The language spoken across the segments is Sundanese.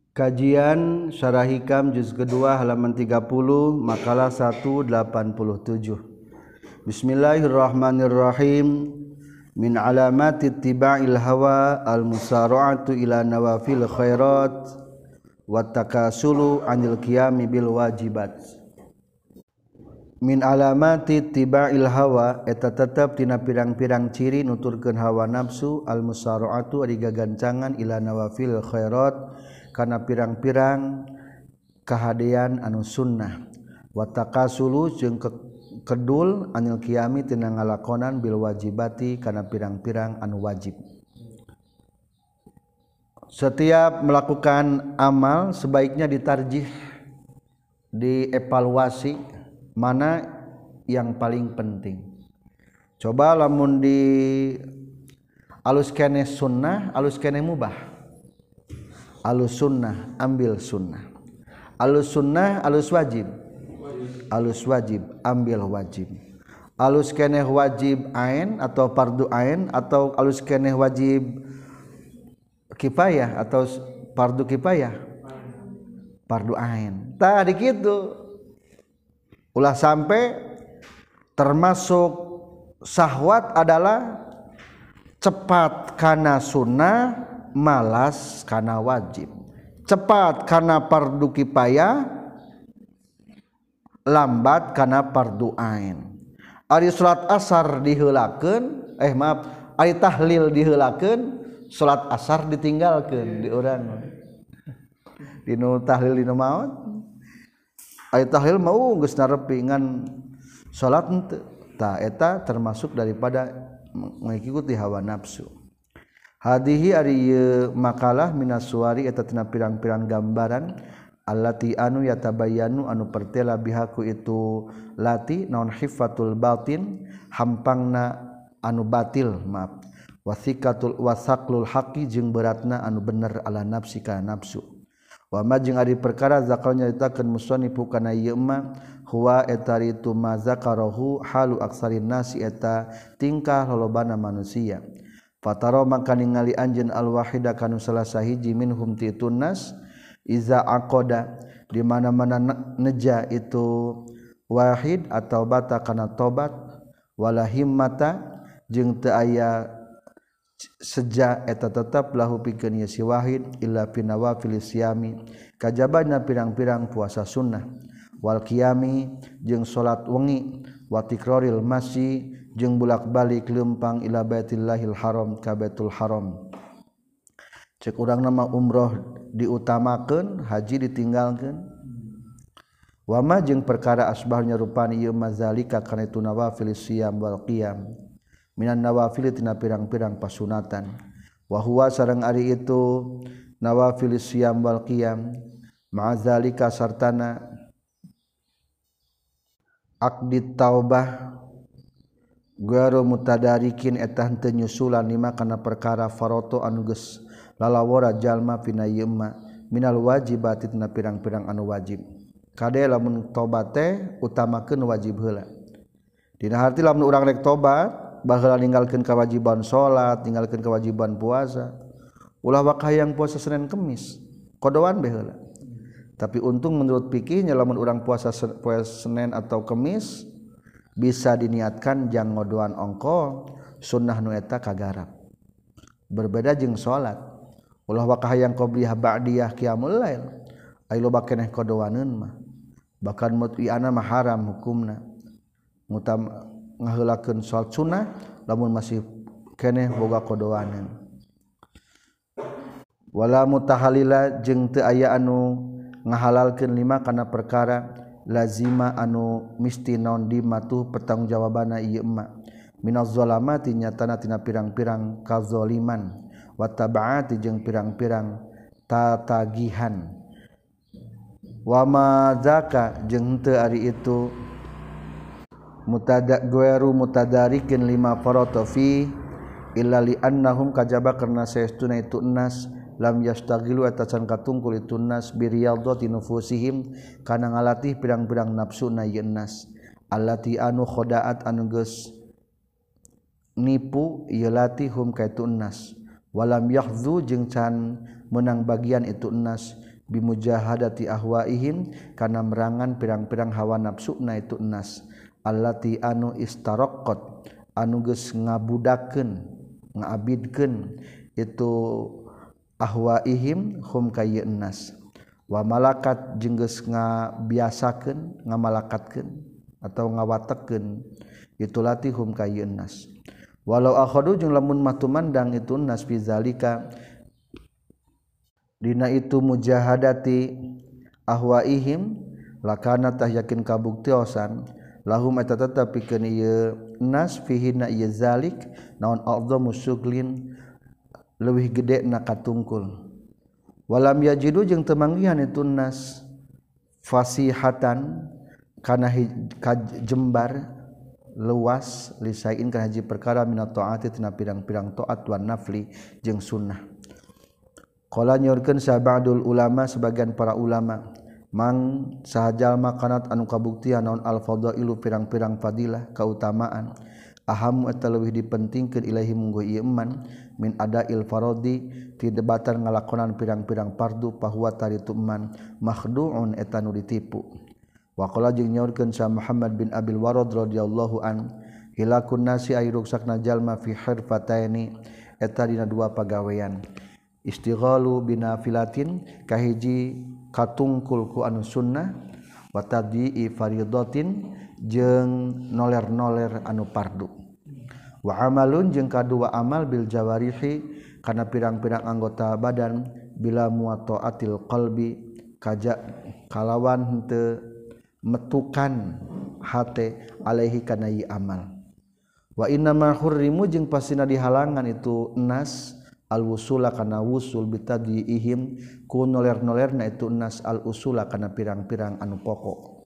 Kajian Syarah Hikam juz kedua halaman 30 makalah 187. Bismillahirrahmanirrahim. Min alamati ittiba'il hawa al-musara'atu ila nawafil khairat wa takasulu 'anil qiyami bil wajibat. Min alamati ittiba'il hawa eta tetep tina pirang-pirang ciri nuturkeun hawa nafsu al-musara'atu ari gagancangan ila nawafil khairat kana pirang-pirang kahadean anu sunnah wa takasulu jeung kedul anil qiyami tina ngalakonan bil wajibati kana pirang-pirang anu wajib. Setiap melakukan amal sebaiknya ditarjih, dievaluasi mana yang paling penting. Coba lamun di alus keneh sunnah, alus keneh mubah. Alus sunnah ambil sunnah, alus sunnah alus wajib, alus wajib ambil wajib, alus keneh wajib ain atau fardu ain atau alus keneh wajib kifayah atau fardu kifayah fardu ain. Tadi gitu ulah sampai termasuk syahwat adalah cepat kana sunnah malas kana wajib, cepat kana fardu kifayah lambat kana fardu ain. Ari salat asar diheulakeun ari tahlil diheulakeun, salat asar ditinggalkeun di urang dinu tahlil dinu maot. Ari tahlil mau geus narepi ngan salat henteu. Tah eta termasuk daripada mengikuti hawa nafsu. Hadihi ari makalah minas suwari eta tina pirang-pirang gambaran allati anu yatabayanu anu pertela bihaku itu lati naon hifatul batin hampangna anu batil maaf wasikatul wasaklul haqi jeung beratna anu bener ala nafsi kana nafsu wa ma jeung ari perkara zakal nyaritakeun musannif kana ieu mah huwa eta itu mazakarahu halu aksarin nasi eta tingkah lolobana manusia. Fataro maka ningali anjeun al-wahida kanu salah sahiji minhum ti tunnas iza aqada di mana-mana neja itu wahid atau bata kana tobat wala himmata jeung teu aya seja eta tetep lahu pikeun ieu si wahid illa fi nawafil siyami kajabana pirang-pirang puasa sunnah wal qiyami jeung salat wengi wa tikraril masyi jeung bulak-balik leumpang ila baitillahil haram ka baitul haram. Cek urang nama umroh diutamakeun, haji ditinggalkeun. Wa ma jeung perkara asbahnya rupana ieu mazalika kana itu nawafil siyam wal qiyam. Minan nawafil tina pirang-pirang pasunatan. Wa huwa sareng ari itu nawafil siyam wal qiyam ma'azalika sartana aqdit taubah Guaro mutadarikin eta henteu nyusulan lima kana perkara faroto anu geus lalawara jalma pina ieu ma minal wajibati tina pirang-pirang anu wajib. Kade lamun tobat teh utamakeun wajib heula. Dina harti lamun urang rek tobat baheula ninggalkeun kewajiban salat, ninggalkeun kewajiban puasa. Ulah wak hayang puasa Senin Kemis, kodoan bae heula. Tapi untung menurut fikihnya lamun urang puasa Senin atau Kemis bisa diniatkan jang ngodoan ongko sunnah nu eta kagarap. Berbeda jeung salat. Ulah wakahayang qobliyah ba'diyah qiyamul lail. Ai loba keneh kodoaneun mah. Bahkan mut'iana mah haram hukumna. Mutam ngaheulakeun salat sunnah lamun masih keneh boga kodoaneun. Wala mutahalila jeung teu aya anu ngahalalkeun lima kana perkara lazima anu misti naon dimatu pertanggungjawabana ieu emma minaz zalamati nyatana tina pirang-pirang kazaliman wa tabaati jeung pirang-pirang tatagihan wa ma zaka jeung teu ari itu mutadarikin lima farata fi illa li annahum kajaba karna saestuna itu nas lam yastagilu atasan katungkul itu nas biriyadati nufusihim kana ngalatih pirang-pirang nafsuna ieu nas allati anu khadaat anu geus nipu ieu latihum ka itu nas walam yahdzu jeung can menang bagian itu nas bimujahadati ahwaihim kana merangan pirang-pirang hawa nafsuna itu enas allati anu istaraqqat anu geus ngabudakeun ngabidkeun itu ahwaihim hum kayy enas wa malakat jeung geus ngabiasakeun ngamalakatkeun atau ngawatekeun itu latihum kayy enas walau akhadu jeung lamun matumandang itu enas fi zalika dina itu mujahadati ahwaihim lakana tah yakin kabuktiosan lahum eta tetep pikeun ieu nas fihi na ieu zalik naon a'dhamu syuglin leuwih gede na katungkul walam yajidu jeung teu manggihan itu nas fasihatan kana jembar luas lisain kana hiji perkara minat taati tina pirang-pirang taat wan nafli jeung sunnah. Qala nyorkeun sabadul ulama sebagian para ulama mang sahajalma kanat anu kabuktian naon al fadailu pirang-pirang fadilah kautamaan aham eta leuwih dipentingkeun ilahi mungguh ieu eman min adail faradi ti debatan ngalakonan pirang-pirang fardu pahuwa taritu eman makhduun eta nu ditipu wa qala jeung nyorkeun sa Muhammad bin Abil Warad radhiyallahu an hilakun nasi ay ruksakna jalma fi hirfataini eta dina dua pagawean istighalu binafilatin kahiji katungkul ku anu sunnah wa tadii faridatin jeung noler-noler anu fardu wa amalun jeung kadua amal bil jawarihi kana pirang-pirang anggota badan bila muataatil qalbi kaja kalawan henteu metukan hate alaihi kana ieu amal wa inna ma hurrimu jeung pasina dihalangan itu nas al-wusula kana wusul bitadihim ku noler-nolerna itu nas al-usula kana pirang-pirang anu pokok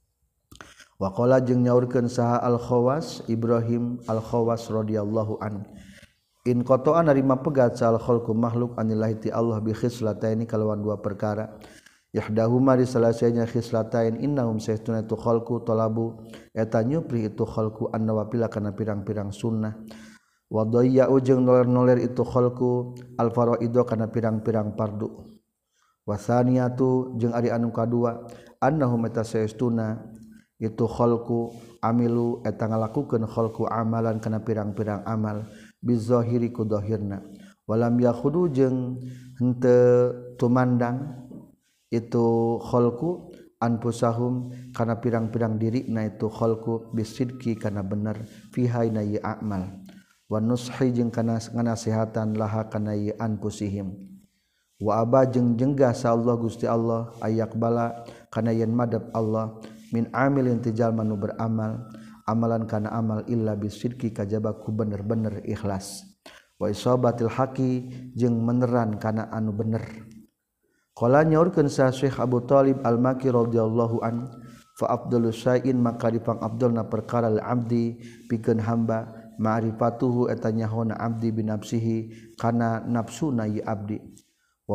wa qala jeung nyaurkeun saha al-Khawas Ibrahim al-Khawas radhiyallahu an in qata'an narima pegat sal khalqu makhluk anillahi ti Allah bi khislataini kalawan dua perkara yahdahuma di salasanya khislatain innahum saytuna tu khalqu talabu eta nyupri itu khalqu an-nawafil kana pirang-pirang sunnah wa dayya'u jeung noler-noler itu khalqu al-faraidu kana pirang-pirang fardu wa tsaniyatu jeung ari anu kadua annahum eta saestuna itu khalqu amilu eta ngalakukeun khalqu amalan kana pirang-pirang amal bizahiri ku zahirna walam yakhudu jeung henteu tumandang itu khalqu anfusahum kana pirang-pirang dirina itu khalqu bisidqi kana bener fiha na ya amal wa nushi jeung kana nganasihatan laha kana ieu anfusihim wa aba jeung jenggah sa Allah Gusti Allah ayak bala kana yen madab Allah min amilin tijal manu beramal amalan kana amal illa bisidqi kajaba ku bener-bener ikhlas wa isabatil haqi jeung meneran kana anu bener qala nyaurkeun sa Syekh Abu Thalib Al-Maki radhiyallahu an fa afdalus syai'in maka dipang afdalna perkara al abdi pikeun hamba ma'rifatuhu eta nyahona abdi binafsihi kana nafsuna ieu abdi wa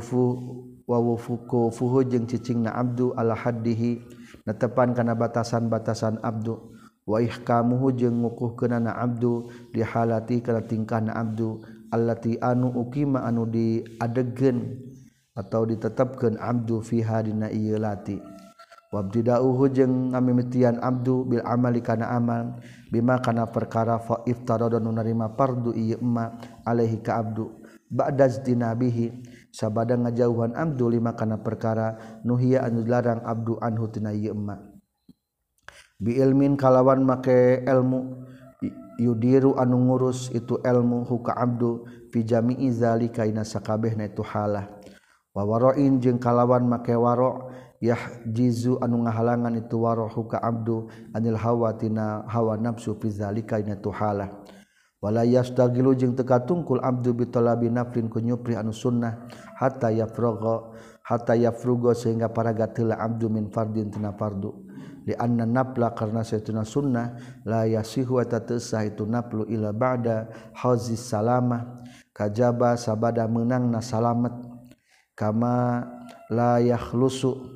wuqufuhu jeung cicingna abdu ala haddihi netepan kana batasan-batasan abdu wa ihkamuhu jeung ngukuhkeunana abdu di halati kana tingkahna abdu allati anu uqima anu diadegkeun atau ditetapkeun abdu fiha dina ieu lati wabtida'uhu jeung ngamimitian abdu bil amali kana amal bima kana perkara fa iftarada nu narima fardu ieu emma alaihi ka abdu ba'da istinabihi sabada ngajauhan abdu lima kana perkara nuhiya anu larang abdu anhu tina ieu emma bi ilmin kalawan make ilmu yudiru anu ngurus itu ilmu huka abdu fi jami'i zalika ina sakabehna itu halah wa wara'in jeung kalawan make wara' yahjizu anu ngahalangan itu warahu ka abdu anil hawa tina hawa nafsu fi zalika ina tuhalah wala yastagilu jeung teu katungkul abdu bi talabi naflin ku nyupri anu sunnah hatta yafrugo sehingga paraga teula abdu min fardin tina fardu li anna nafla karna satuna sunnah la yasihu eta teu sah itu naflu ila ba'da hauzis salamah kajaba sabada meunangna salamet kama la yakhlusu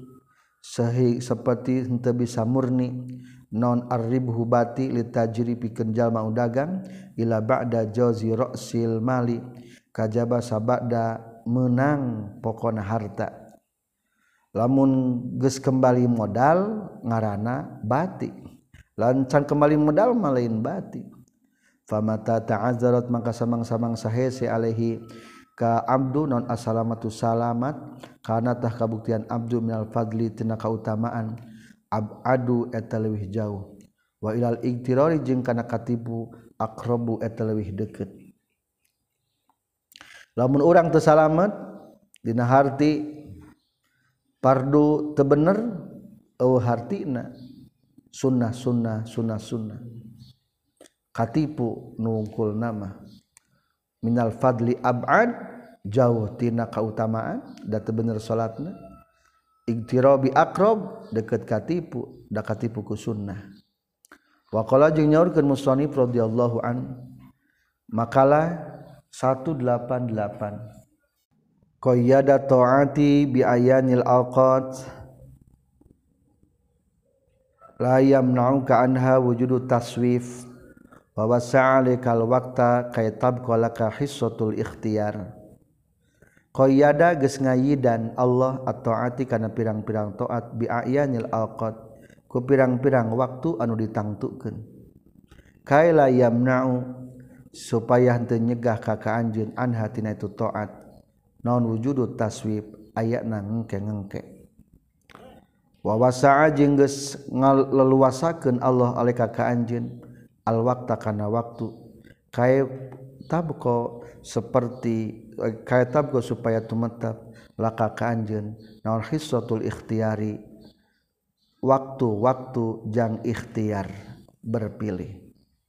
seperti henteu bisa murni non arribhu bati litajri pikeun jalma dagang ila ba'da jazi ra'sil mali kajaba sabada menang pokona harta lamun geus kembali modal ngaranna bati lancan kembali modal malain bati famata ta'azzarat maka samang-samang sahese alaihi ka abdu non assalamatu salamat kana tah kabuktian abdu minal fadli tina kautamaan abadu eta leuwih jauh wa ilal igtirari jeung kana katipu aqrabu eta leuwih deukeut lamun urang teu salamet dina harti fardu teu bener eueuh hartina sunnah katipu nu wungkul nama minal fadli ab'ad jauh tina kautamaan da teu bener salatna igtirabi aqrab deukeut katipu da katipu ku sunnah wa qala jeung nyaurkeun musannif radhiyallahu an makalah 188 qayyada taati bi ayanil awqat la yamna'uka anha wujudu taswif wa wasa'alikal waqta kaitab qalaka hissatul ikhtiyar qayyada geus ngayidan Allah at-taati kana pirang-pirang taat bi ayanil awqat ku pirang-pirang waktu anu ditangtukeun kaila yamna'u supaya henteu nyegah ka anjeun anha tina itu taat naon wujudu taswif ayatna ngengke-ngengke wa wasa'a jeung geus ngaleluasakeun Allah alika ka anjeun al waqta kana waktu kay tabqa seperti kay tabqa supaya tumetap laka ka anjeun naon hissatul ikhtiyari waktu-waktu jang ikhtiar berpilih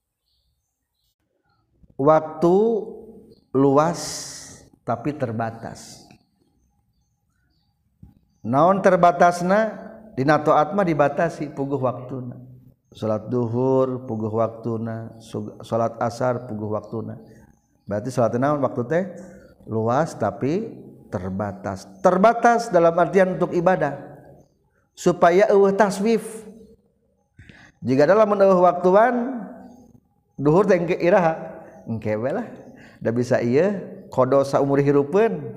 waktu luas tapi terbatas naon terbatasna dina taat mah dibatasi puguh waktuna salat duhur puguh waktuna salat asar puguh waktuna berarti salat naon waktu teh luas tapi terbatas dalam artian untuk ibadah supaya eueuh taswif jika dalam eueuh waktuan duhur teh engke iraha engke we lah da bisa ieu kodo saumur hirupeun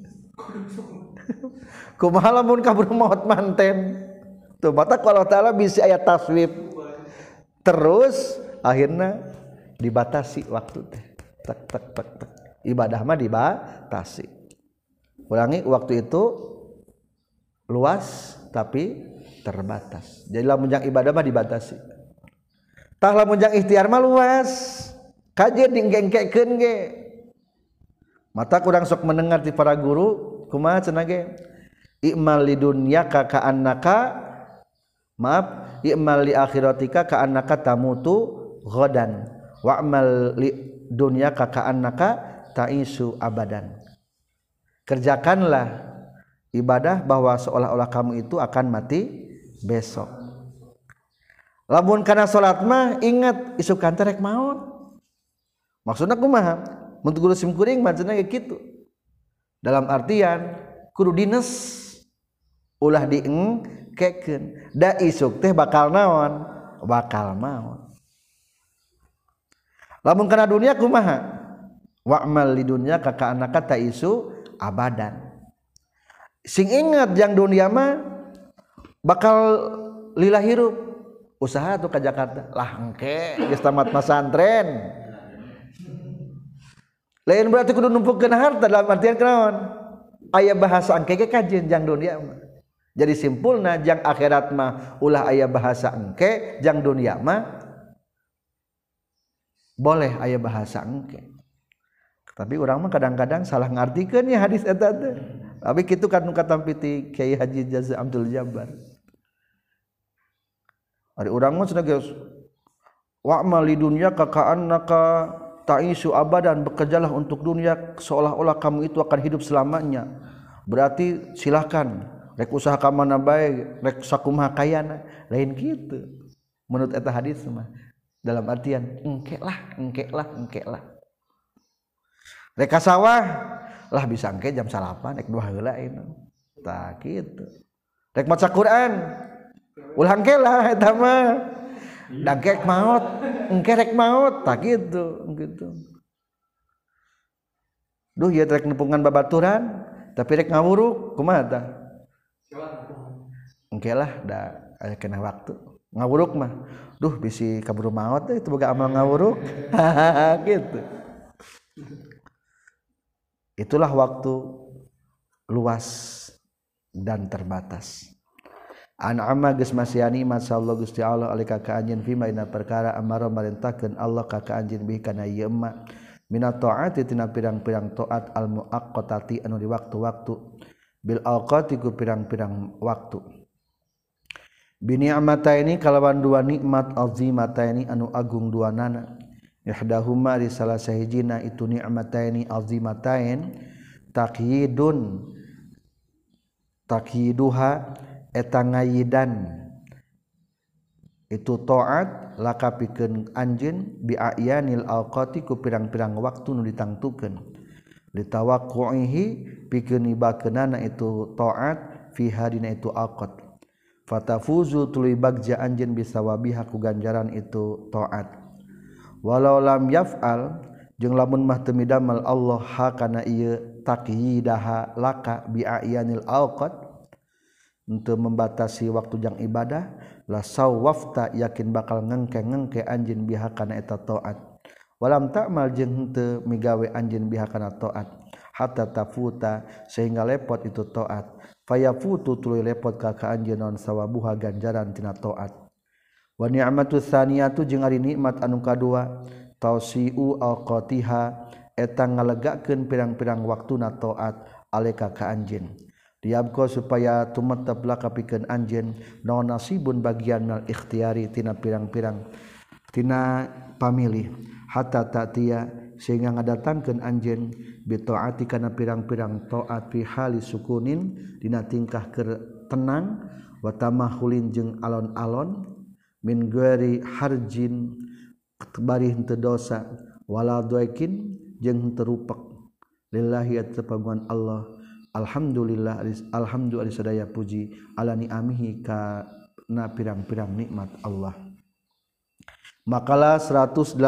kumaha lamun kabur maot manten tuh mata Allah taala bisa aya taswif terus akhirna dibatasi waktu teh tak ibadah mah dibatasi ulangi waktu itu luas tapi terbatas jadi lamun jang ibadah mah dibatasi tah lamun jang ikhtiar mah luas kajeun dinggengkekeun ge mata kurang sok mendengar ti para guru kumaha cenah ge i'mal lidunyaka ka annaka maaf i'mal li akhiratika ka annaka tamutu ghadan wa'mal li dunyaka ka annaka ta'isu abadan kerjakanlah ibadah bahwa seolah-olah kamu itu akan mati besok lamun kana salat mah ingat isukan teh rek maot maksudna kumaha mun guru sim kuring mah cenah kitu dalam artian kudu dines ulah diengkekeun da isuk teh bakal naon bakal maot lamun kana dunia kumaha wa'mal lidunya ka anaka ta isu abadan sing ingat jang dunia mah bakal lila hirup usaha tuh ke Jakarta lah engke geus tamat pesantren lain berarti kudu numpukkeun harta dalam artian kunaon aya bahasa engke ge kajeun jang dunia mah jadi simpulna jang akhirat mah ulah aya bahasa engke jang dunia mah boleh aya bahasa engke tapi urang mah kadang-kadang salah ngartikeun ya hadis eta teh tapi kitu kan nu katampi ti Kiai Haji Jaza Abdul Jabbar ari urang mah cenah geus wa'mal lidunya ka annaka ta'isu abadan bekerjalah untuk dunia seolah-olah kamu itu akan hidup selamanya berarti silakan rek usaha ka mana bae rek sakumaha kayana lain kitu menurut eta hadis mah dalam artian engke lah rek ka sawah lah bisa engke jam 8 rek 2 heula tah kitu rek maca Quran ulah engke lah eta mah dangkek maot engke rek maot tah kitu duh ieu rek nempungan babaturan tapi rek ngawuruk kumaha tah engke lah da aya kena waktu ngawuruk mah duh bisi kaburu maot itu boga amal ngawuruk gitu. Itulah waktu luas dan terbatas. An amma geus masiani masallahu Gusti Allah alika ka anjeun fi maina perkara amara marintahkeun Allah ka anjeun bihi kana ieu emma minat taati tina pirang-pirang taat al muaqqatati anu di waktu-waktu bil awqati ku pirang-pirang waktu bi ni'mataini kalawan dua nikmat azimataini anu agung duanana ihdahuma di salah sahijina itu ni'mataini azimatain takyiduha eta ngayidan itu taat laka pikeun anjeun bi ayanil awqati ku pirang-pirang waktu nu ditangtukeun litawaqqu'ihi pikeun nibakeunana itu taat fi hadina itu awqat fatafuzu tuluy bagja anjeun bisawabiha ku ganjaran itu taat walau lam yaf'al jeung lamun mah teu midamal Allah ha kana ieu taqyidaha laka bi ayanil awqat untuk membatasi waktu jang ibadah la sawwafta yakin bakal ngengke anjeun biha kana eta taat walam ta'mal jeung henteu migawe anjeun biha kana taat hatta tafuta sehingga lepot itu taat fayafutu tuluy lepot ka anjeun naon sawabuha ganjaran tina taat wa ni'matu tsaniyatu jeung ari nikmat anu kadua tausiu awqatiha eta ngalegakeun pirang-pirang waktuna taat aleka ka anjeun diabko supaya tumetep laka pikeun anjeun naon nasibun bagian al ikhtiyari tina pirang-pirang tina pamilih hatta ta'tiya sehingga ngadatangkeun anjeun bi taati kana pirang-pirang taat fi hali sukunin dina tingkah keur tenang wa tamahulin jeung alon-alon min ghairi harjin bari henteu dosa wala doikin jeung henteu rupek lillahi at-tapaguan Allah alhamdulillah alhamdulillah sadaya puji ala ni'amihi kana pirang-pirang nikmat Allah. Makalah 189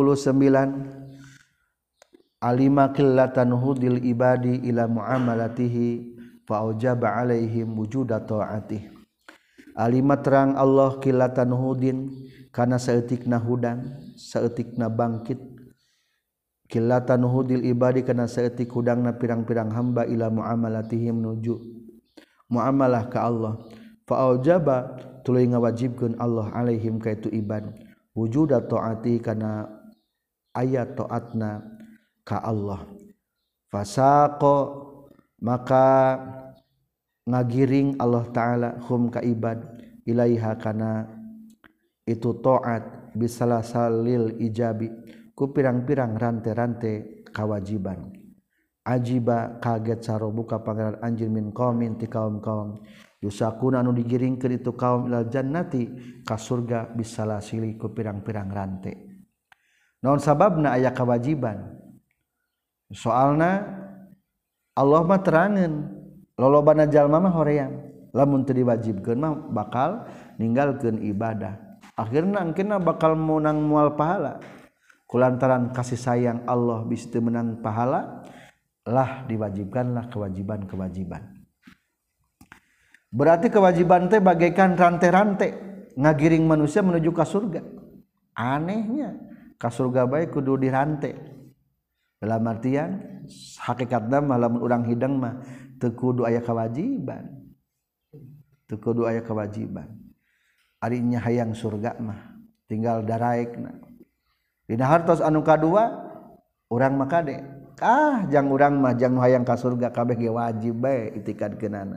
alima qillatan hudil ibadi ila muamalatihi fa aujaba alaihim wujuda taatih. Alima terang Allah qillatan hudin kana saeutikna hudang saeutikna bangkit qillatan hudil ibadi kana saeutik hudangna pirang-pirang hamba ila muamalatihim menuju muamalah ka Allah fa aujaba tuluy ngawajibkeun Allah alaihim ka itu ibad wujuda taati kana ayat taatna ka Allah fasaqo maka ngagiring Allah taala hum ka ibad ilaiha kana itu taat bisalasalil ijabi ku pirang-pirang rante-rante kawajiban ajiba kaget sarobuka pangeran anjeun min qaumin ti kaum-kaum yusakuna anu digiringkeun itu kaum ilal jannati ka surga bisalasili ku pirang-pirang rante naon sababna aya kawajiban soalna Allah mah terangeun lolobana jalma mah hoream lamun teu diwajibkeun mah bakal ninggalkeun ibadah akhirna engkeuna bakal meunang moal pahala kulantaran kasih sayang Allah bisa menang pahala lah diwajibkanlah kewajiban-kewajiban. Berarti kewajiban teh bagaikan rante-rante ngagiring manusia menuju ke surga. Anehnya ka surga bae kudu dirante. Dalam artian hakikatna mah lamun urang hidang mah teu kudu aya kewajiban. Teu kudu aya kewajiban. Ari nya hayang surga mah tinggal daraekna. Dina hartos anu kadua urang mah kade jang urang mah jang hayang ka surga kabeh ge wajib bae itikadkeunana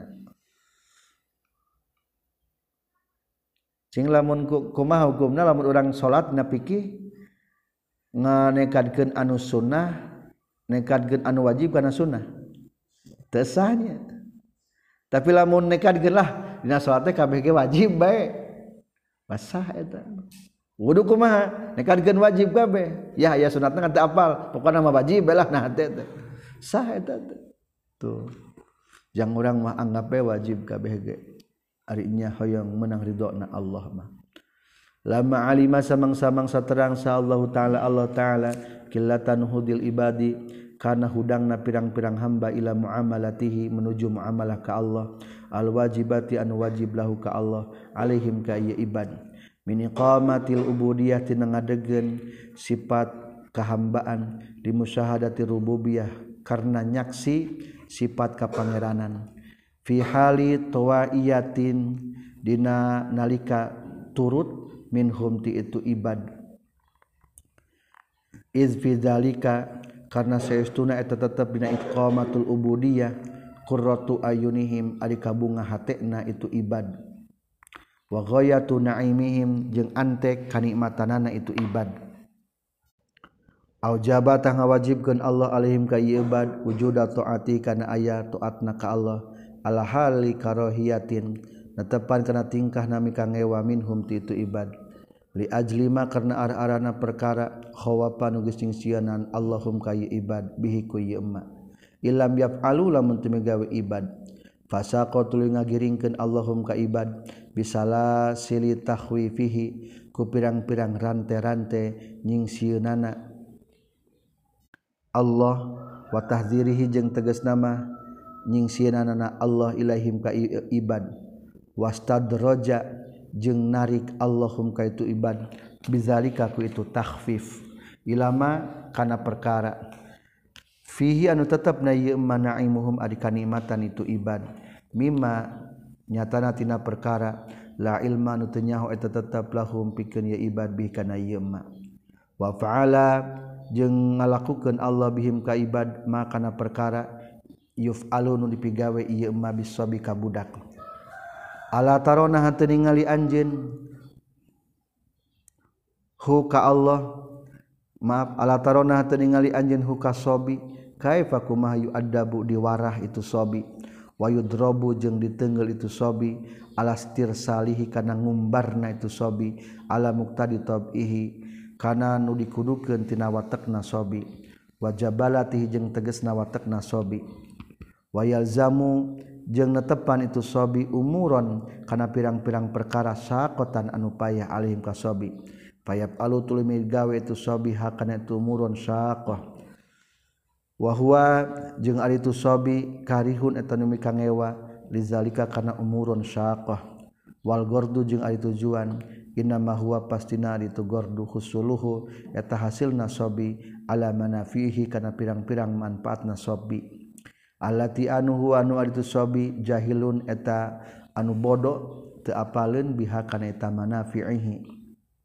cing lamun kumaha hukumna lamun urang salat napiki nganekadkeun anu sunnah nekadkeun anu wajib kana sunnah teu sahnya tapi lamun nekadkeun lah dina salat teh kabeh ge wajib bae basah eta wudu kumaha nekadkeun wajib kabeh ya aya sunatna kan teu apal pokona mah wajib lah nah teh sah eta tuh jang urang mah anggap we wajib kabeh ge ari nya hoyong meunang ridona Allah mah lama alima samang-samang saterang sa Allah taala qillatan hudil ibadi kana hudangna pirang-pirang hamba ila muamalatihi menuju muamalah ka Allah al-wajibati anu wajib lahu ka Allah alaihim ka ieu ibad min iqamatil ubudiyah tina ngadegen sifat kahambaan di musyahadati rububiyah karena nyaksi sifat kapangeranan fi hali tawaiyatin dina nalika turut minhum ti itu ibad iz fi dzalika karna saestuna eta tetep dina iqamatul ubudiyah qurratu ayunihim ari kabunga hatena itu ibad wa ghayatu naimihim jeung antek kanikmatanana itu ibad aujaba tah ngawajibkeun Allah alaihim ka ibad wujuda taati kana aya taatna ka Allah ala hali karahiyatin netepan kana tingkah nami kangewa minhum ti itu ibad li ajlima karna arana perkara khawafa nu geus sieunaan Allahum ka ibad bihi ku yema ilam yaf'alu lamun teu gawe ibad fasaqatul ngagiringkeun Allahum ka ibad bisala sili tahwifihi ku pirang-pirang rante-rante nyingsieunaana Allah wa tahdzirihi jeung tegasna mah nyingsieunaana Allah ilaihim ka ibad wastadraja jeung narik Allahum ka itu ibad bizalika ku itu takhfif ilama kana perkara fihi anu tetepna ieu manaimuhum ari kanikmatan itu ibad mimma nyatana tina perkara la ilma anu teu nyaho eta tetep lahum pikeun ieu ibad bi kana ieu ma wa fa'ala jeung ngalakukeun Allah bihim ka ibad ma kana perkara yuf'alu nu dipigawe ieu ma bisabi ka budak ala tarona henteu ningali anjeun hu ka Allah maaf ala tarona henteu ningali anjeun hu ka sobi kaifa kumaha yu'addabu diwarah itu sobi wa yudrabu jeung diteungeul itu sobi alastir salihi kana ngumbarna itu sobi ala muqtadi tabihi kana nu dikudukeun tina watekna sobi wa jabalatihi jeung tegasna watekna sobi wa yalzamu jeung netepan itu sobi umuron kana pirang-pirang perkara saqatan anu payah alaihim ka sobi payap alu tulimi gawe itu sobi hakana itu umuron saqah wa huwa jeung ari itu sobi karihun eta nu mikangewa lizalika kana umurun syaqah wal gordu jeung ari tujuan inna ma huwa pastina ari tu gordu husuluhu eta hasilna sobi ala manafihi kana pirang-pirang manfaatna sobi allati anu huwa anu ari tu sobi jahilun eta anu bodoh teu apaleun biha kana eta manafihi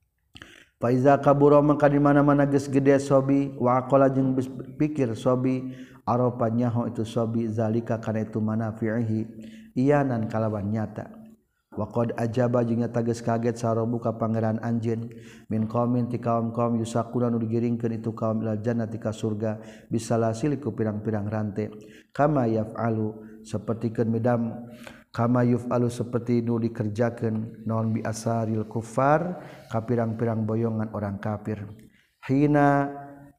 faiza kabura maka di mana-mana geus gede sobi wa aqala jeung pikir sobi aropa nyaho itu sobi zalika kana itu manafihi iyanan kalawan nyata wa qad ajaba jeung nyata geus kaget sarobu ka pangeran anjeun min qaumin ti kaum-kaum yusaquna nu digiringkeun itu kaum ilal jannati ka surga bisalasil ku pirang-pirang rante kama yaf'alu sapertikeun midam kama yuf'alu seperti nu dikerjakeun naon bi asaril kufar ka pirang-pirang boyongan orang kafir hina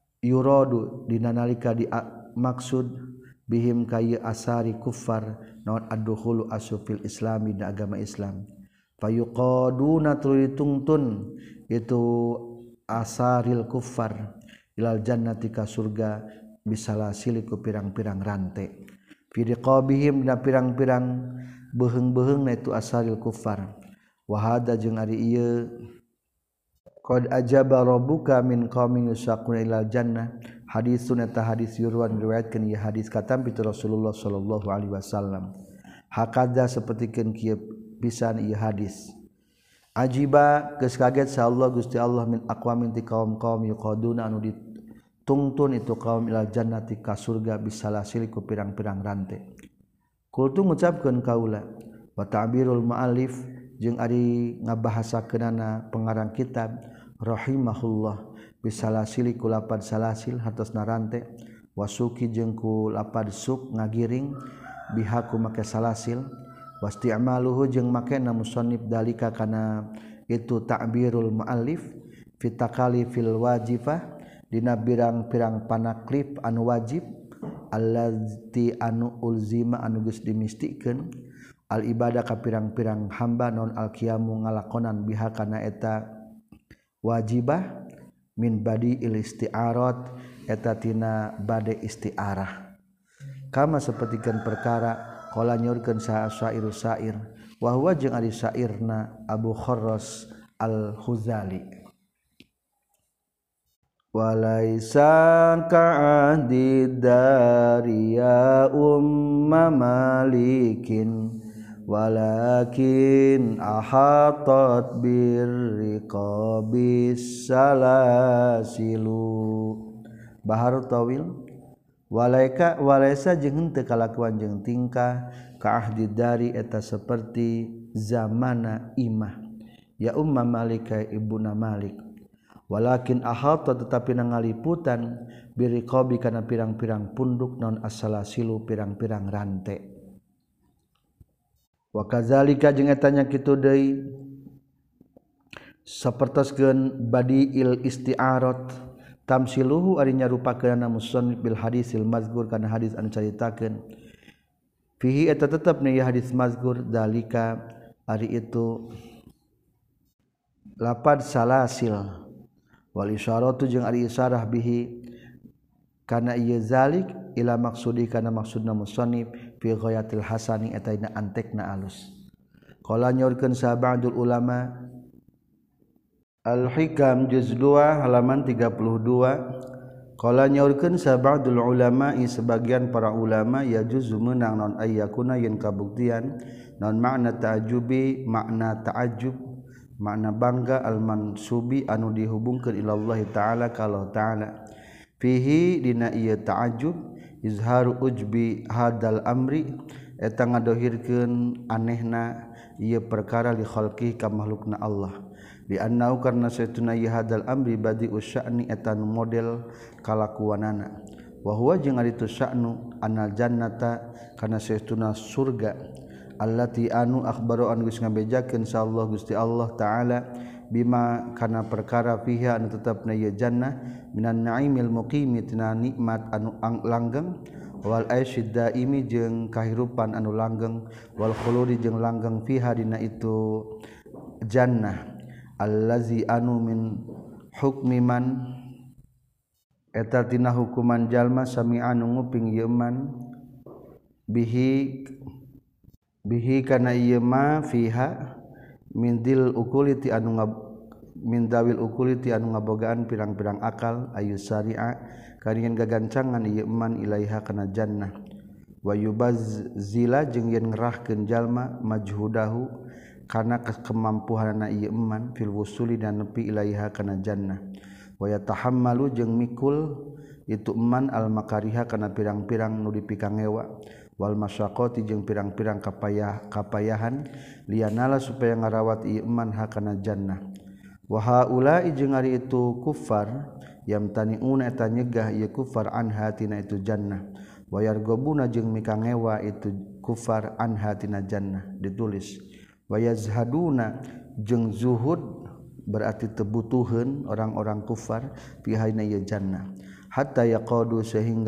yuradu dina nalika di maksud bihim kaya asari kufar naon ad-dukhulu asufil islami da agama Islam fayuqaduna tulitungtun itu asaril kufar ilal jannati ka surga bisalasil ku pirang-pirang rante fi riqabihim da pirang-pirang beheung-beheungna itu asaril kufar wa hada jeung ari ieu qad ajaba rabbuka min qaumin yusaquna ilal jannah hadisun eta hadis yurwan riwayatkeun ieu hadis katam pitu Rasulullah sallallahu alaihi wasallam hakadza sapertikeun kieu pisan ieu hadis ajiba geus kaget sa Allah Gusti Allah min aqwamin ti kaum-kaum yuqaduna anu ditungtun itu kaum ilal jannati ka surga bisalasil ku pirang-pirang rante kultu ngucapkeun kaula wa ta'birul muallif jeung ari ngabahasakeunana pengarang kitab rahimahullah bisalasili ku lapad salasil hatosna rante wasuki jeung ku lapad suk ngagiring bihaku make salasil wasti'maluhu jeung makena musannif dalika kana itu ta'birul muallif fi takalifil wajifah dina pirang-pirang panaklif anu wajib allati anu ulzima anu geus dimistikeun al ibadah ka pirang-pirang hamba non al qiyamu ngalakonan biha kana eta wajibah min badi il isti'arat eta tina bade isti'arah kama sapertikeun perkara qala nyorkeun saha syair syair wa huwa jeung ari syairna Abu Kharras Al-Huzali walaisa ka'adi dariya umma malikin walakin ahatat birriqabis salasilu bahar tawil walaisa jeung henteu kalakuan jeung tingkah ka ahdi dari eta seperti zamana imah ya umma malika ibuna malik walakin ahata tetapi nangaliputan biriqabi kana pirang-pirang punduk non as-salasilu pirang-pirang rante wa kadzalika jeung eta nya kitu deui sapertoskeun badiil isti'arat tamsiluhu ari nyarupakeunna musannif bil hadisil mazkur kana hadis anu caritakeun fihi eta tetep nih hadis mazkur dalika ari itu lapad salasil wal isyaratu jeung ari isyarah bihi kana ieu zalik ila maksudi kana maksudna musannif fi ghayatil hasani eta dina antekna alus qala nyorkeun sa ba'dul ulama al-hikam juz 2 halaman 32 qala nyorkeun sa ba'dul ulama sebagian para ulama ya juzu meunang non ayyakuna yen kabuktian non makna ta'ajjubi makna ta'ajjub makna bangga al-mansubi anu dihubungkeun ila Allah taala ka Allah taala fihi dina ieu ta'ajjub izharu ujbi hadal amri eta ngadohirkeun anehna ieu perkara li khalqi ka makhlukna Allah bi annahu karna satuna ieu hadal amri badi usya'ni eta nu model kalakuanana wa huwa jeung ari tu sya'nu anal jannata kana satuna surga allati anu akhbaru an geus ngabejakeun insyaallah Gusti Allah taala bima kana perkara fiha anu tetepna ieu jannah minan naimil muqimi tina nikmat anu langgeng wal aisyid daimi jeung kahirupan anu langgeng wal khuludi jeung langgeng fiha dina itu jannah allazi anu min hukmi man eta tina hukuman jalma sami anu nguping ieu man bihi kana ieu ma fiha min dil ukuliti anu min dawil ukuliti anu ngabogaan pirang-pirang akal ayu syari'a karingan gagancangan ieu man ilaiha kana jannah wa yubazzila jeung yen ngerahkeun jalma majhudahu kana kemampuanna ieu man fil wusuli dan nepi ilaiha kana jannah wa yatahammalu jeung mikul itu man al makariha kana pirang-pirang nu dipikangewa wal masyaqqati jeung pirang-pirang kapayahan lianala supaya ngarawat ieu man hakana jannah wa haula jeung ari itu kufar yamtaniuna eta nyegah ieu kufar anha tina itu jannah wa yargobuna jeung mikangewa itu kufar anha tina jannah ditulis wa yazhaduna jeung zuhud berarti tebutuheun orang-orang kufar fi haina ieu jannah hatta yuqadu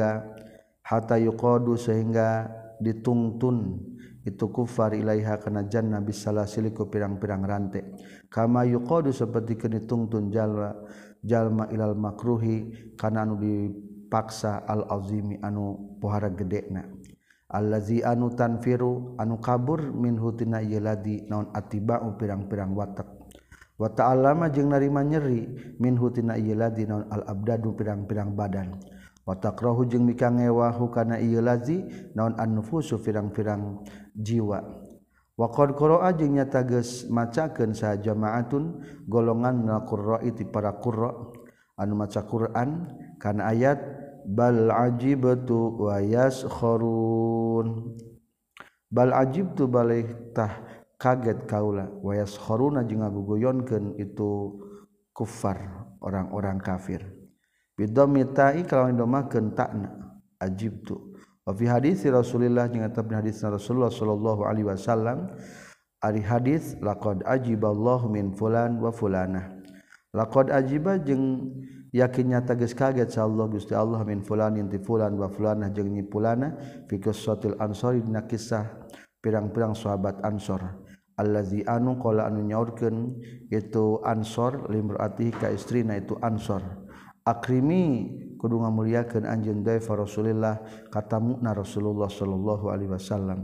sehingga ditungtun itu kufar ilaiha kana jannah bisalasiliku pirang-pirang rantai kama yuqadu seperti ditungtun jalma ilal makruhi kana anu dipaksa al azimi anu pohara gedena allazi anu tanfiru anu kabur minhu tina ieu ladi naon atiba'u pirang-pirang watak wa ta'allama jeung narima nyeri minhu tina ieu ladi naon al abdadu pirang-pirang badan wa takrahu jeung mikangewahu kana ieu lazi naon an-nufusu pirang-pirang jiwa wa qad qara'a jeung nyata geus macakeun saha jamaatun golongan na qurra'i ti para qurra anu maca Quran kana ayat bal ajibtu wa yaskharun bal ajibtu balik tah kaget kaula wa yaskharuna jeung ngagugoyonkeun itu kufar orang-orang kafir bidhammi ta'i kalawan domakeun ta'na ajibtu wa fi hadis Rasulillah jeung eta hadis Rasulullah sallallahu alaihi wasallam ari hadis laqad ajiballahu min fulan wa fulanah laqad ajiba jeung yakin nyata geus kaget sa Allah Gusti Allah min fulan inti fulan wa fulanah jeung nyi fulana fi qissatil ansari dina kisah pirang-pirang sahabat ansor allazi anu qala anu nyaurkeun itu ansor limraati ka istrina itu ansor akrimi kudu ngamuliakeun anjeun daif Rasulillah katamuna Rasulullah sallallahu alaihi wasallam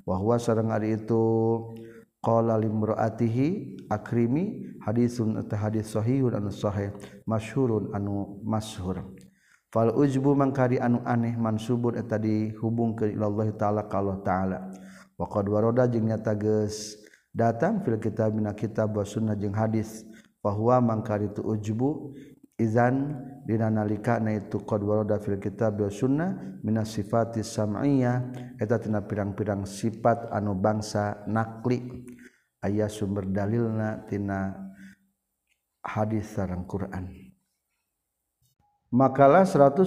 Wahwa sareng ari itu qala limraatihi akrimi hadisun eta hadis sahihun anu sahih masyhurun anu masyhur. Fal ujbu mangkari anu aneh mansubun eta dihubungkeun ila Allah taala ka Allah taala. Wa qad warada jeung nyata geus datang fil kitab mina kitab wa sunnah jeung hadis bahwa mangkari tu ujbu izan dina nalikana itu qad warada fil kitab wa sunnah minas sifatis sam'iyah eta tina pirang-pirang sifat anu bangsa nakli aya sumber dalilna tina hadis sareng Quran. Makalah 180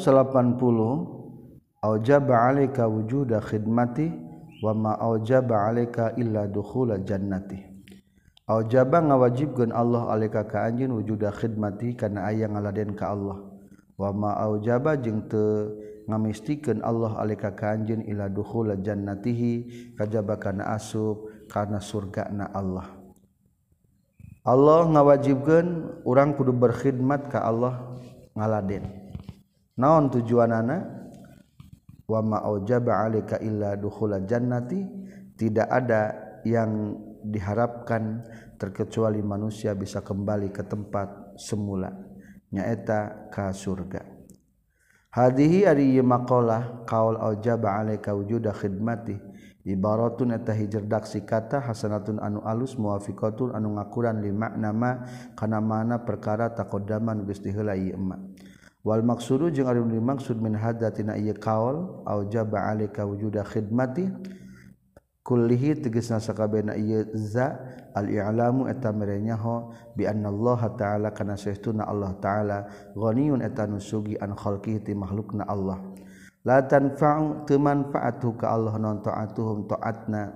aujaba 'alaika wujuda khidmati wa ma aujaba 'alaika illa dukhula jannati. Aujaba ngawajibkeun Allah 'alaika ka anjeun wujuda khidmati kana aya ngaladen ka Allah. Wa ma aujaba jeung teu ngamistikeun Allah 'alaika ka anjeun illa dukhula jannatihi kajaba kana asup kana surgana Allah. Allah ngawajibkeun urang kudu berkhidmat ka Allah ngaladen. Naon tujuanana? Wa ma aujaba 'alaika illa dukhula jannati, tidak ada yang diharapkan terkecuali manusia bisa kembali ke tempat semula nyaeta ka surga. Hadhihi ari maqalah qaul aujaba 'alaika wujuda khidmati ibaratun eta hijrdaksi kata hasanatun anu alus muwafiqatun anu ngakuran li makna ma kana mana perkara taqaddaman geus diheula ieu emma. Wal maqsudu jeung ari dimaksud min hadatina ieu qaul aujaba 'alaika wujuda khidmati kullihi tegasna sakabehna ieu za al-i'lamu eta merenyaho bi anna Allah taala kana saestuna Allah taala ghaniyun eta nusugi an khalqihi ti makhlukna Allah. La tanfa'u teu manfaatu ka Allah non ta'atuhum ta'atna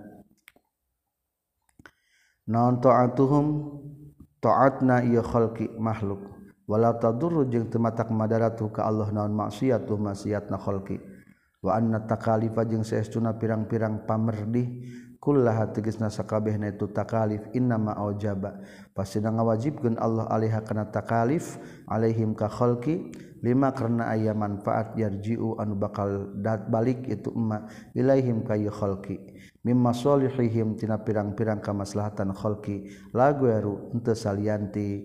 non ta'atuhum ta'atna ieu khalqi makhluk wala tadurru jeung teu matak madaratu ka Allah non maksiatu maksiatna khalqi. Wa anna takalifa jeung saestuna pirang-pirang pamerdih kullaha tegasna sakabehna itu takalif innama aujaba pasina ngawajibkeun Allah alaiha kana takalif alaihim ka khalqi lima karena aya manfaat yarji'u anu bakal balik itu emma ilaihim ka khalqi mimma salihihim tina pirang-pirang kamaslahatan khalqi lagueru henteu salianti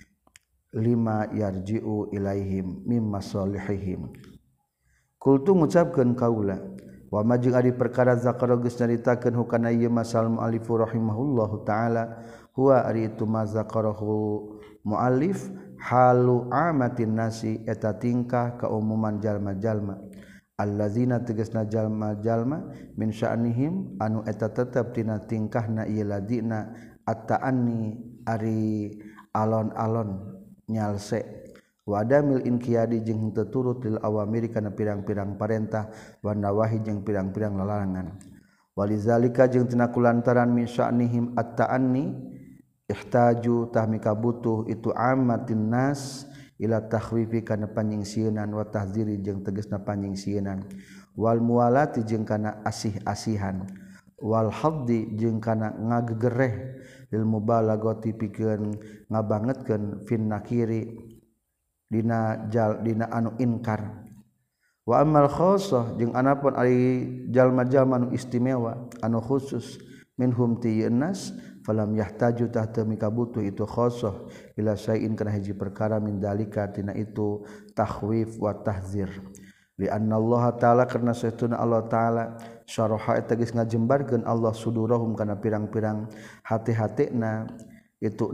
lima yarji'u ilaihim mimma salihihim. Kultu ngucapkeun kaula wa majing ari perkara zakara geus nyaritakeun hukana ieu masal muallif rahimahullahu taala huwa ari itu mazakarahu muallif halu amatin nasi eta tingkah kaumuman jalma-jalma allazina tegasna jalma-jalma min sya'nihim anu eta tetep tina tingkahna ieu ladina at-ta'anni ari alon-alon nyalse wadamil inqiyadi jeung henteu turut lil awamiri kana pirang-pirang parentah wa nawahi jeung pirang-pirang larangan. Walizalika jeung tina kulantaran min sya'nihim at-ta'anni ihtaju tahmika butuh itu ammatin nas ila takhwifi kana panyingsieunnan wa tahziri jeung tegasna panyingsieunnan wal muwalati jeung kana asih-asihan wal haddi jeung kana ngagegereh lil mubalaghati pikeun ngabangetkeun fin nakiri dina anu inkar. Wa amal khassah jeung anapun ari jalma-jalma anu istimewa anu khusus minhum tiynas falam yahtaju tahta mikabutu itu khassah ila syai'in kana hiji perkara min dalika tina itu takhwif wa tahzir li anna Allah taala karna saestuna Allah taala syaraha eta geus ngajembarkeun Allah sudurahum kana pirang-pirang hati-hatina itu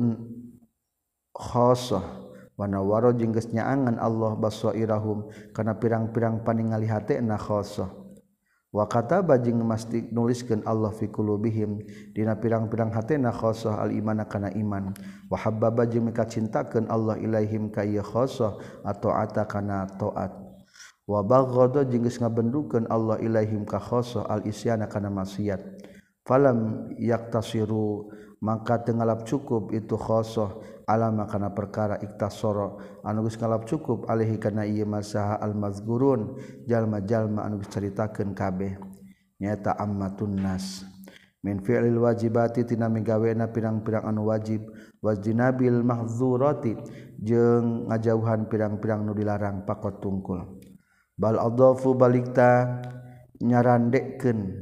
khassah wa nawara jeung geus nyaangan Allah basairahum kana pirang-pirang paningali hatena khassah wa kataba jeung masti nuliskeun Allah fi qulubihim dina pirang-pirang hatena khassah al imana kana iman wa habbaba jeung mikacintakeun Allah ilaihim ka ieu khassah ataata kana taat wa baghadha jeung geus ngabendukeun Allah ilaihim ka khassah al isyana kana maksiat falam yaktasiru maka teu ngalap cukup itu khassah alama kana perkara iktasara anu geus ngalap cukup alaihi kana ieu masaha al mazgurun jalma-jalma anu geus caritakeun kabeh nyaeta ammatun nas min fi'lil wajibati tina migawena pirang-pirang anu wajib wajinabil mahdzurati jeung ngajauhan pirang-pirang nu dilarang pakot tungkul bal adhafu balikta nyarandekeun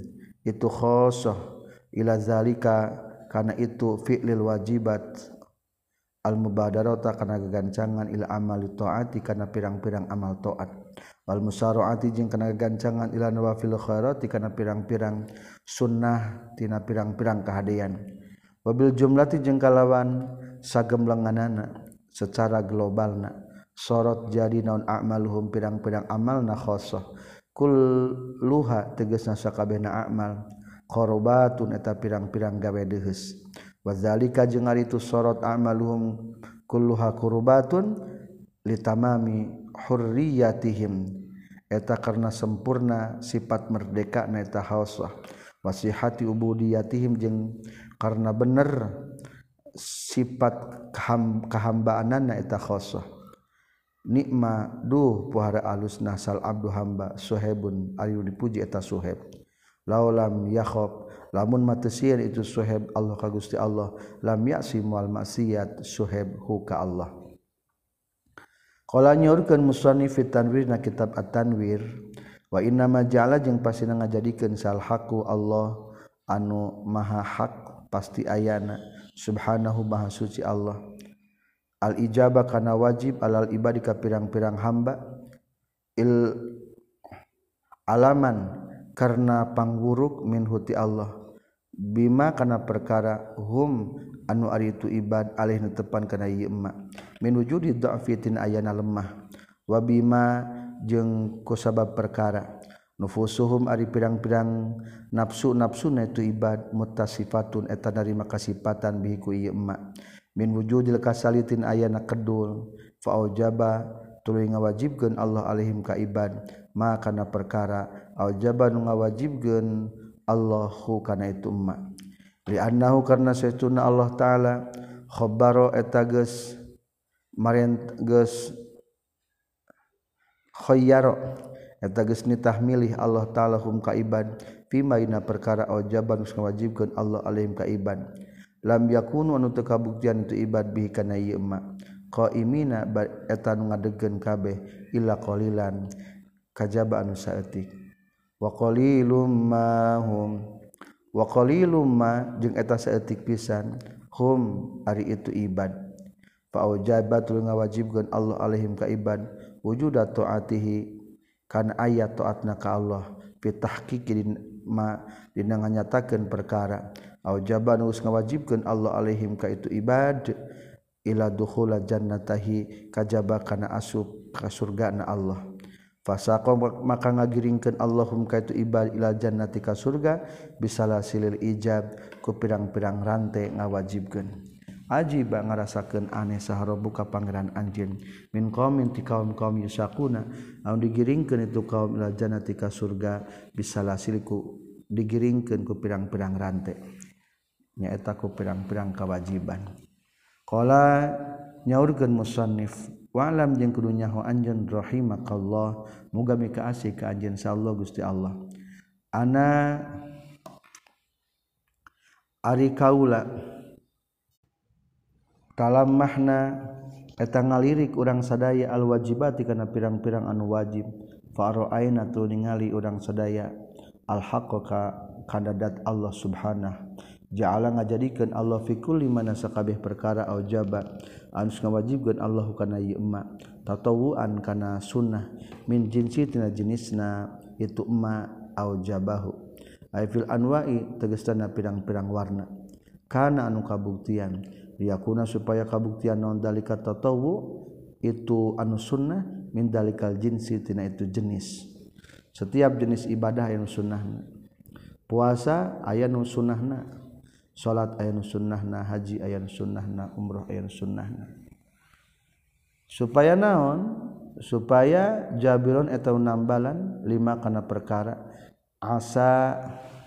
itu khosoh ila zalika kana itu fi'lil wajibat al mubadarata kana gagancangan ila amali taati kana pirang-pirang amal taat wal musaraati jeung kana gagancangan ila nawafil khairati kana pirang-pirang sunnah tina pirang-pirang kahadean wabil jumlati jeung kalawan sagemlenganana secara globalna sorot jadi naon a'maluhum pirang-pirang amalna khosoh kulluha tegasna sakabehna amal qurbatun eta pirang-pirang gawe deus wazalika jeung ari itu sorot a'maluhum kulluha qurbatun litamami hurriyatihim eta karena sempurna sifat merdeka na eta khosah wasihati ubudiyatihim jeung karena bener sifat kehambaanana eta khosah nikma duh puhara alus nasal abdu hamba suhaibun ayu dipuji eta suhaib laulam yakhab lamun matesieun itu suhaib Allah ka Gusti Allah lam ya'si wal maksiat suhaib hu ka Allah qala nyaurkeun musannif fi tanwir na kitab at-tanwir wa inna ma ja'ala jeung pasina ngajadikeun sal haqu Allah anu maha hak pasti ayana subhanahu maha suci Allah al ijabah kana wajib alal ibadi ka pirang-pirang hamba il alaman karena pangburuk min huti Allah bima kana perkara hum anu ari itu ibad alih netepan kana ieu emma min wujudi dha'fitin ayana lemah wa bima jeung kusabab perkara nufusuhum ari pirang-pirang nafsu-nafsuna itu ibad muttasifatun eta dari makasifatan bihi ku ieu emma min wujudil kasalitin ayana kedul fa aujaba tuluy ngawajibkeun Allah alaihim ka ibad ma kana perkara aujaba nu ngawajibkeun Allahu kana itu emma li annahu karna saestuna Allah taala khabaro eta geus marent geus khayyaro eta geus nitah milih Allah taala hum ka ibad fi maina perkara aujaba nu ngawajibkeun Allah alaihim ka ibad lam yakunu anu teu kabuktian itu ibad bihi kana ieu emma qaimina eta nu ngadegkeun kabeh illa qalilan kajaba anu saeutik wa qalilum ma hum wa qalilum ma jeung eta saeutik pisan hum ari itu ibad fa aujabat lu ngawajibkeun Allah alaihim ka ibad wujuda taatihi kana ayat taatna ka Allah fi tahqiqi ma dina nganyatakeun perkara aujaban us ngawajibkeun Allah alaihim ka itu ibad ila dukhula jannatahi kajaba kana asup ka surgana Allah fasaqa maka ngagiringkeun Allahum ka itu ibad ila jannati ka surga bisalasilil ijab ku pirang-pirang rante ngawajibkeun ajiba ngarasakeun aneh saharobu ka pangeran anjeun min qaumin ti kaum-kaum yusaquna anu digiringkeun itu kaum ila jannati ka surga bisalasil ku digiringkeun ku pirang-pirang rante nyaeta ku pirang-pirang kewajiban qala nyaurkeun musannif wa alam jeung kudu nyaho anjeun rahimakallah muga mika asih ka anjeun insyaallah Gusti Allah ana ari kaula dalam mahna eta ngalirik urang sadaya al wajibati kana pirang-pirang anu wajib fa ra'aina tu ningali urang sadaya al haqqqa kadadat Allah subhanahu ja'ala ngajadikeun Allah fi kulli mana sakabeh perkara aujaba anu ngawajibkeun Allah kana ieu emma tatawuan kana sunnah min jinsi tina jenisna itu emma aujabahu ai fil anwa'i tegasna pirang-pirang warna kana anu kabuktian liyakuna supaya kabuktian naon dalika tatawu itu anu sunnah min dalikal jinsi tina itu jenis setiap jenis ibadah aya nu sunnahna puasa aya nu sunnahna salat aya nu sunnahna haji aya nu sunnahna umrah aya nu sunnahna supaya naon supaya jabiron eta nambalan lima kana perkara asa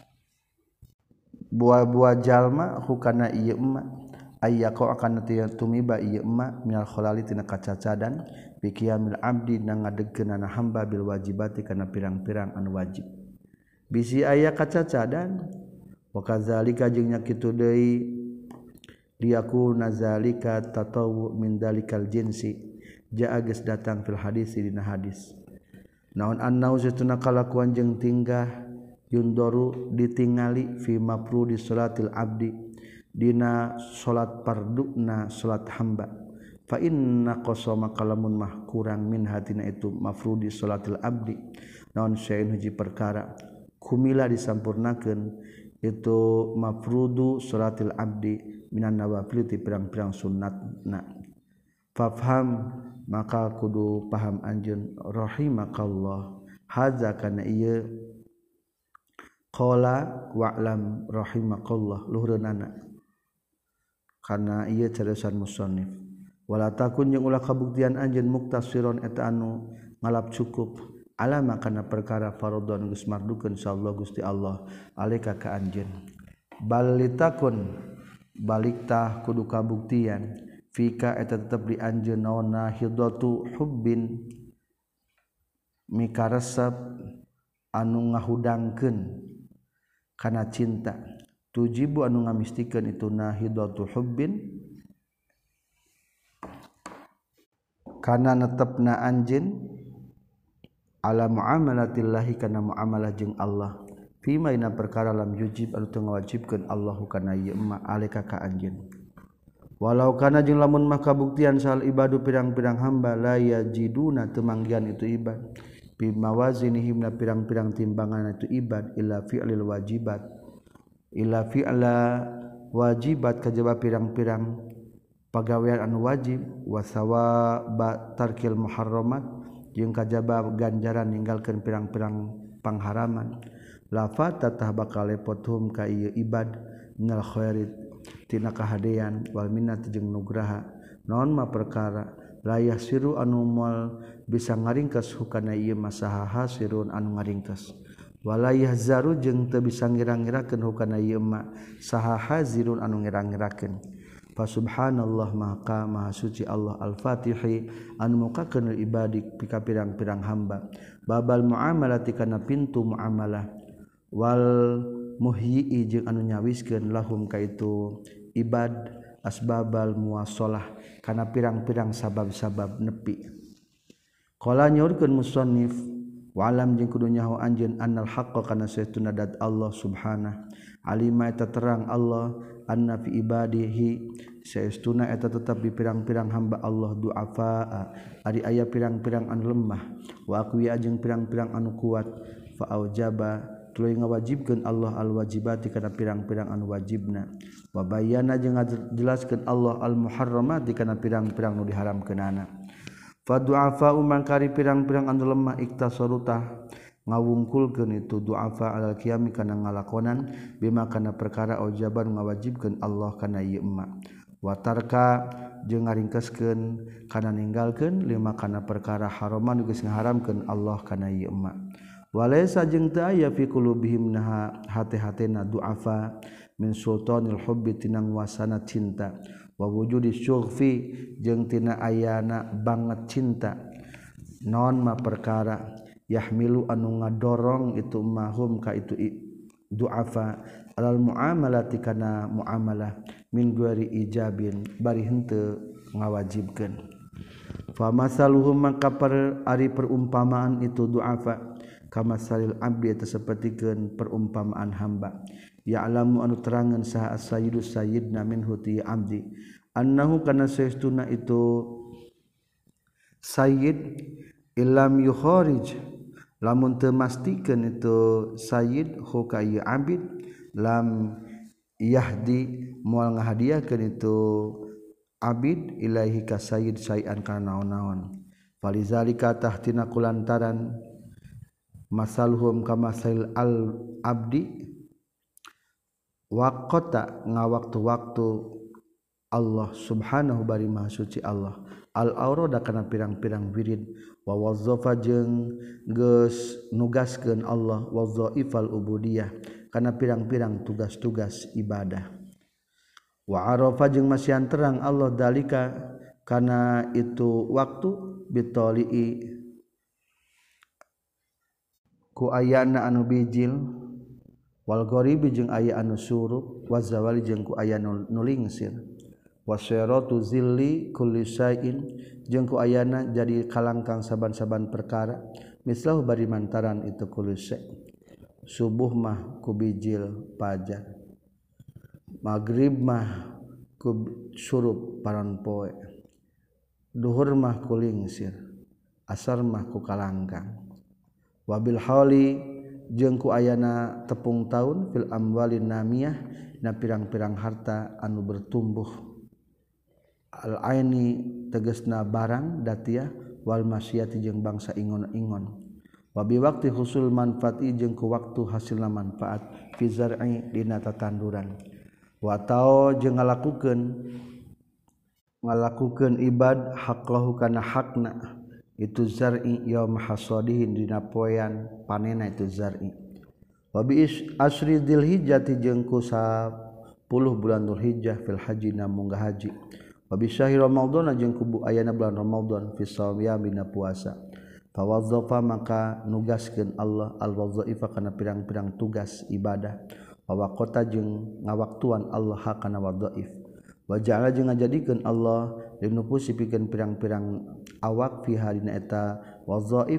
buah-buah jalma hukana ieu emma ayyaqo akan tumiba ieu emma minal khalali tina kacacadan bi qiyamil abdi na ngadegkeunana hamba bil wajibati kana pirang-pirang anu wajib bisi aya kacacadan wa kadzalika jeung nya kitu deui liyakuna zalika tatawu min dalikal jinsi jaa geus datang fil hadis dina hadis naon annau zatuna kalakuan jeung tingkah yundoru ditingali fi mafrudi salatil abdi dina salat parduna salat hamba fa inna qasama kalamun mah kurang min hatina itu mafrudi salatil abdi naon syai'un hiji perkara kumila disampurnakeun itu mafrudu salatil abdi minan nawafil ti pirang-pirang sunnatna fafham maka kudu paham anjeun rahimakallah hadza kana ieu qala wa'lam rahimakallah luhurna kana ieu carisan musannif wala takun jeung ulah kabuktian anjeun muktasiron eta anu ngalap cukup alama kana perkara fardhon geus mardukeun insyaallah Gusti Allah alika ka anjeun balitakun baliktah kudu kabuktian fika eta tetep di anjeun naonna hidatu hubbin mikaresep anu ngahudangkeun kana cinta tujibu anu ngamistikeun itu nahidatu hubbin kana netepna anjeun ala muamalatillahi kana muamalah jeung Allah fima ina perkara lam yujib anu teu ngawajibkeun Allahu kana ieu ma alika ka anjeun walau kana jeung lamun mah kabuktian sal ibadu pirang-pirang hamba la yajiduna teu manggihan itu ibad bi mawazinihim na pirang-pirang timbangan itu ibad illa fi'lil wajibat illa fi'la wajibat kajaba pirang-pirang pagawean anu wajib wa sawaba tarkil muharramat jeung kajaba ganjaran ninggalkeun pirang-pirang pangharaman lafata tah bakal lepothum ka ieu ibad minal khairit tina kahadean wal minnat jeung nugraha naon mah perkara layah siru anu moal bisa ngaringkes hukana ieu masaha hasirun anu ngaringkes walayah zaru jeung teu bisa ngira-ngirakeun hukana ieu ma saha hazirun anu ngira-ngirakeun fa subhanallah maka maha suci Allah al-fatihi anu mukakeun ibadik pika pirang-pirang hamba babal muamalati kana pintu muamalah wal muhyi jeung anu nyawiskeun lahum ka itu ibad asbabal muwasalah kana pirang-pirang sabab-sabab nepi qala nyaurkeun musannif wa alam jeung kudu nyaho anjeun annal haqqa kana saestuna dat Allah subhanahu alima eta terang Allah anna fi ibadihi saestuna eta tetap di pirang-pirang hamba Allah du'afa ari aya pirang-pirang anu lemah wa aqwiya jeung pirang-pirang anu kuat fa aujaba tuluy ngawajibkeun Allah al-wajibati kana pirang-pirang anu wajibna wa bayyana jeung ngajelaskeun Allah al-muharramati kana pirang-pirang nu diharamkeunana fa du'afa mangkari pirang-pirang anu lemah iktasarutah ngawungkulkeun itu du'afa alal qiyami kana ngalakonan bima kana perkara aujaban ngawajibkeun Allah kana ieu emma wa tarka jeung ngaringkeskeun kana ninggalkeun lima kana perkara haraman geus ngaharamkeun Allah kana ieu emma walaysa jeung teu aya fi qulubihim naha hate-hatena du'afa min sultanil hubbi tinang wasana cinta wa wujudi syughfi jeung tina ayana banget cinta non ma perkara yahmilu anu ngadorong itu mahum ka itu du'afa alal muamalati kana muamalah min ghairi ijabin bari henteu ngawajibkeun fa masaluhum maka ari perumpamaan itu du'afa kama salil abdi eta sapertikeun perumpamaan hamba ya'lamu anu terangan saha as-sayyidu sayyidna min huti abdi annahu kana saestuna itu sayyid illam yukharij lamun teu mastikeun itu sayyid hu ka ieu abid lam yahdi moal ngahadiahkeun itu abid ilaihi ka sayyid sayan kana naon-naon falizalika tahtina kulantaran masaluhum kama sail al abdi waqata ngawaktu-waktu Allah subhanahu bari maha suci Allah al aurada kana pirang-pirang wirid wa wazzafa jeung geus nugaskeun Allah wazaifal ubudiyah kana pirang-pirang tugas-tugas ibadah wa arafa jeung masihan terang Allah dalika kana itu waktu bitoli'i ku ayana anu bijil wal gharibi jeung aya anu surup wa zawali jeung ku aya nu lingsir wasyaratu zilli kulli syai'in jeung ku ayana jadi kalangkang saban-saban perkara mislahu bari mantaran itu kulli syai' subuh mah ku bijil pajar maghrib mah ku surup paran poe duhur mah ku lingsir asar mah ku kalangkang wabil hauli jeung ku ayana tepung taun fil amwalin namiyah na pirang-pirang harta anu bertumbuh al aini tegasna barang datiah wal masyati jeung bangsa ingon-ingon wabi waktu husul manfaati jeung ku waktu hasilna manfaat fi zar'i dina tatanduran wa tao jeung ngalakukeun ibad haqlahu kana hakna itu zar'i yaum hasadihin dina poean panena itu zar'i wa bi asri dzulhijjah jeung ku 10 bulan Dzulhijjah fil haji na munggah haji wa bi syahr ramadan jeung ku ayana bulan Ramadan fi shaumina puasa fa wadzafa maka nugaskeun Allah al wadzaifa kana pirang-pirang tugas ibadah wa waqata jeung ngawaktuan Allah kana wadzaif wa ja'ala jeung ngajadikeun Allah linupusi pikeun pirang-pirang awak fi halina eta wadzaif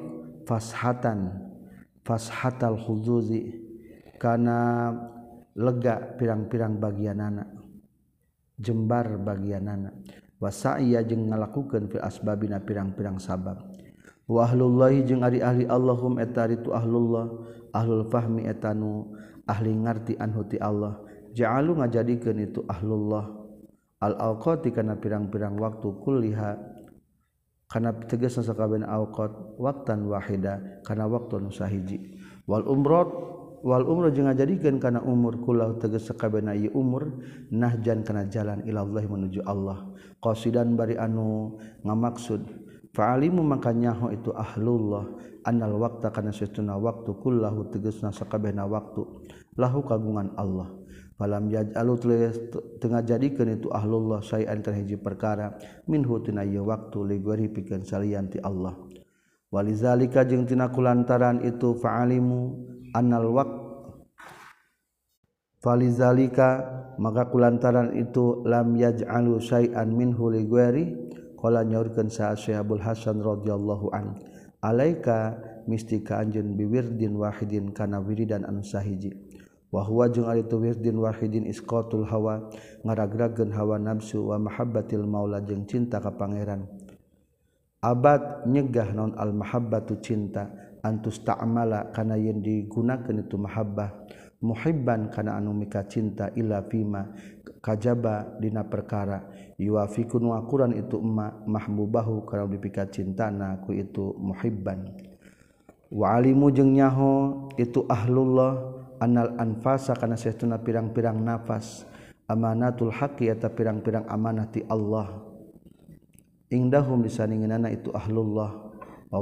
fashatal khuzuzi kana lega pirang-pirang bagianana jembar bagianana wa sa'iya jeung ngalakukeun fil asbabina pirang-pirang sabab wa ahlullahi jeung ari ahli Allahum eta ritu ahlullah ahlul fahmi etanu ahli ngarti anhu ti Allah ja'alu ngajadikeun itu ahlullah al awqati kana pirang-pirang waktu kulliha kana tegasna sakabehna awqat waqtan wahida kana waktu nu sahiji wal umrah jeung ngajadikeun kana umur kullahu tegas sakabehna ieu umur nahjan kana jalan ila Allah menuju Allah qasidan bari anu ngamaksud fa'alimu maka nyaho itu ahlullah annal waqta kana satuna waktu kullahu tegasna sakabehna waktu lahu kagungan Allah falam yaj'alu tengah jadikeun itu ahlullah sayan kana hiji perkara minhu tina ieu waktu li ghairi pikeun salian ti Allah walizalika jeung tina kulantaran itu fa'alimu annal waqt falizalika maka kulantaran itu lam yaj'alu sayan minhu li ghairi qala nyaurkeun sa Syekh Hasan radhiyallahu an alaika mistika anjeun biwirdin wahidin kana wiridan anu sahiji wa huwa jeung ari tu wirdin wahidin isqatul hawa ngaragrageun hawa nafsu wa mahabbatil maula jeung cinta ka pangeran abad nyegah naon al mahabbatu cinta antus ta'mala kana yen digunakeun itu mahabbah muhibban kana anu mika cinta illa fima kajaba dina perkara yuafikun wa quran itu mahbubahu kana dipika cintana ku itu muhibban wa alimu jeung nyaho itu ahlullah annal anfasa kana saestuna pirang-pirang nafas amanatul haqqi eta pirang-pirang amanah ti Allah indahum disaningeunana itu ahlullah wa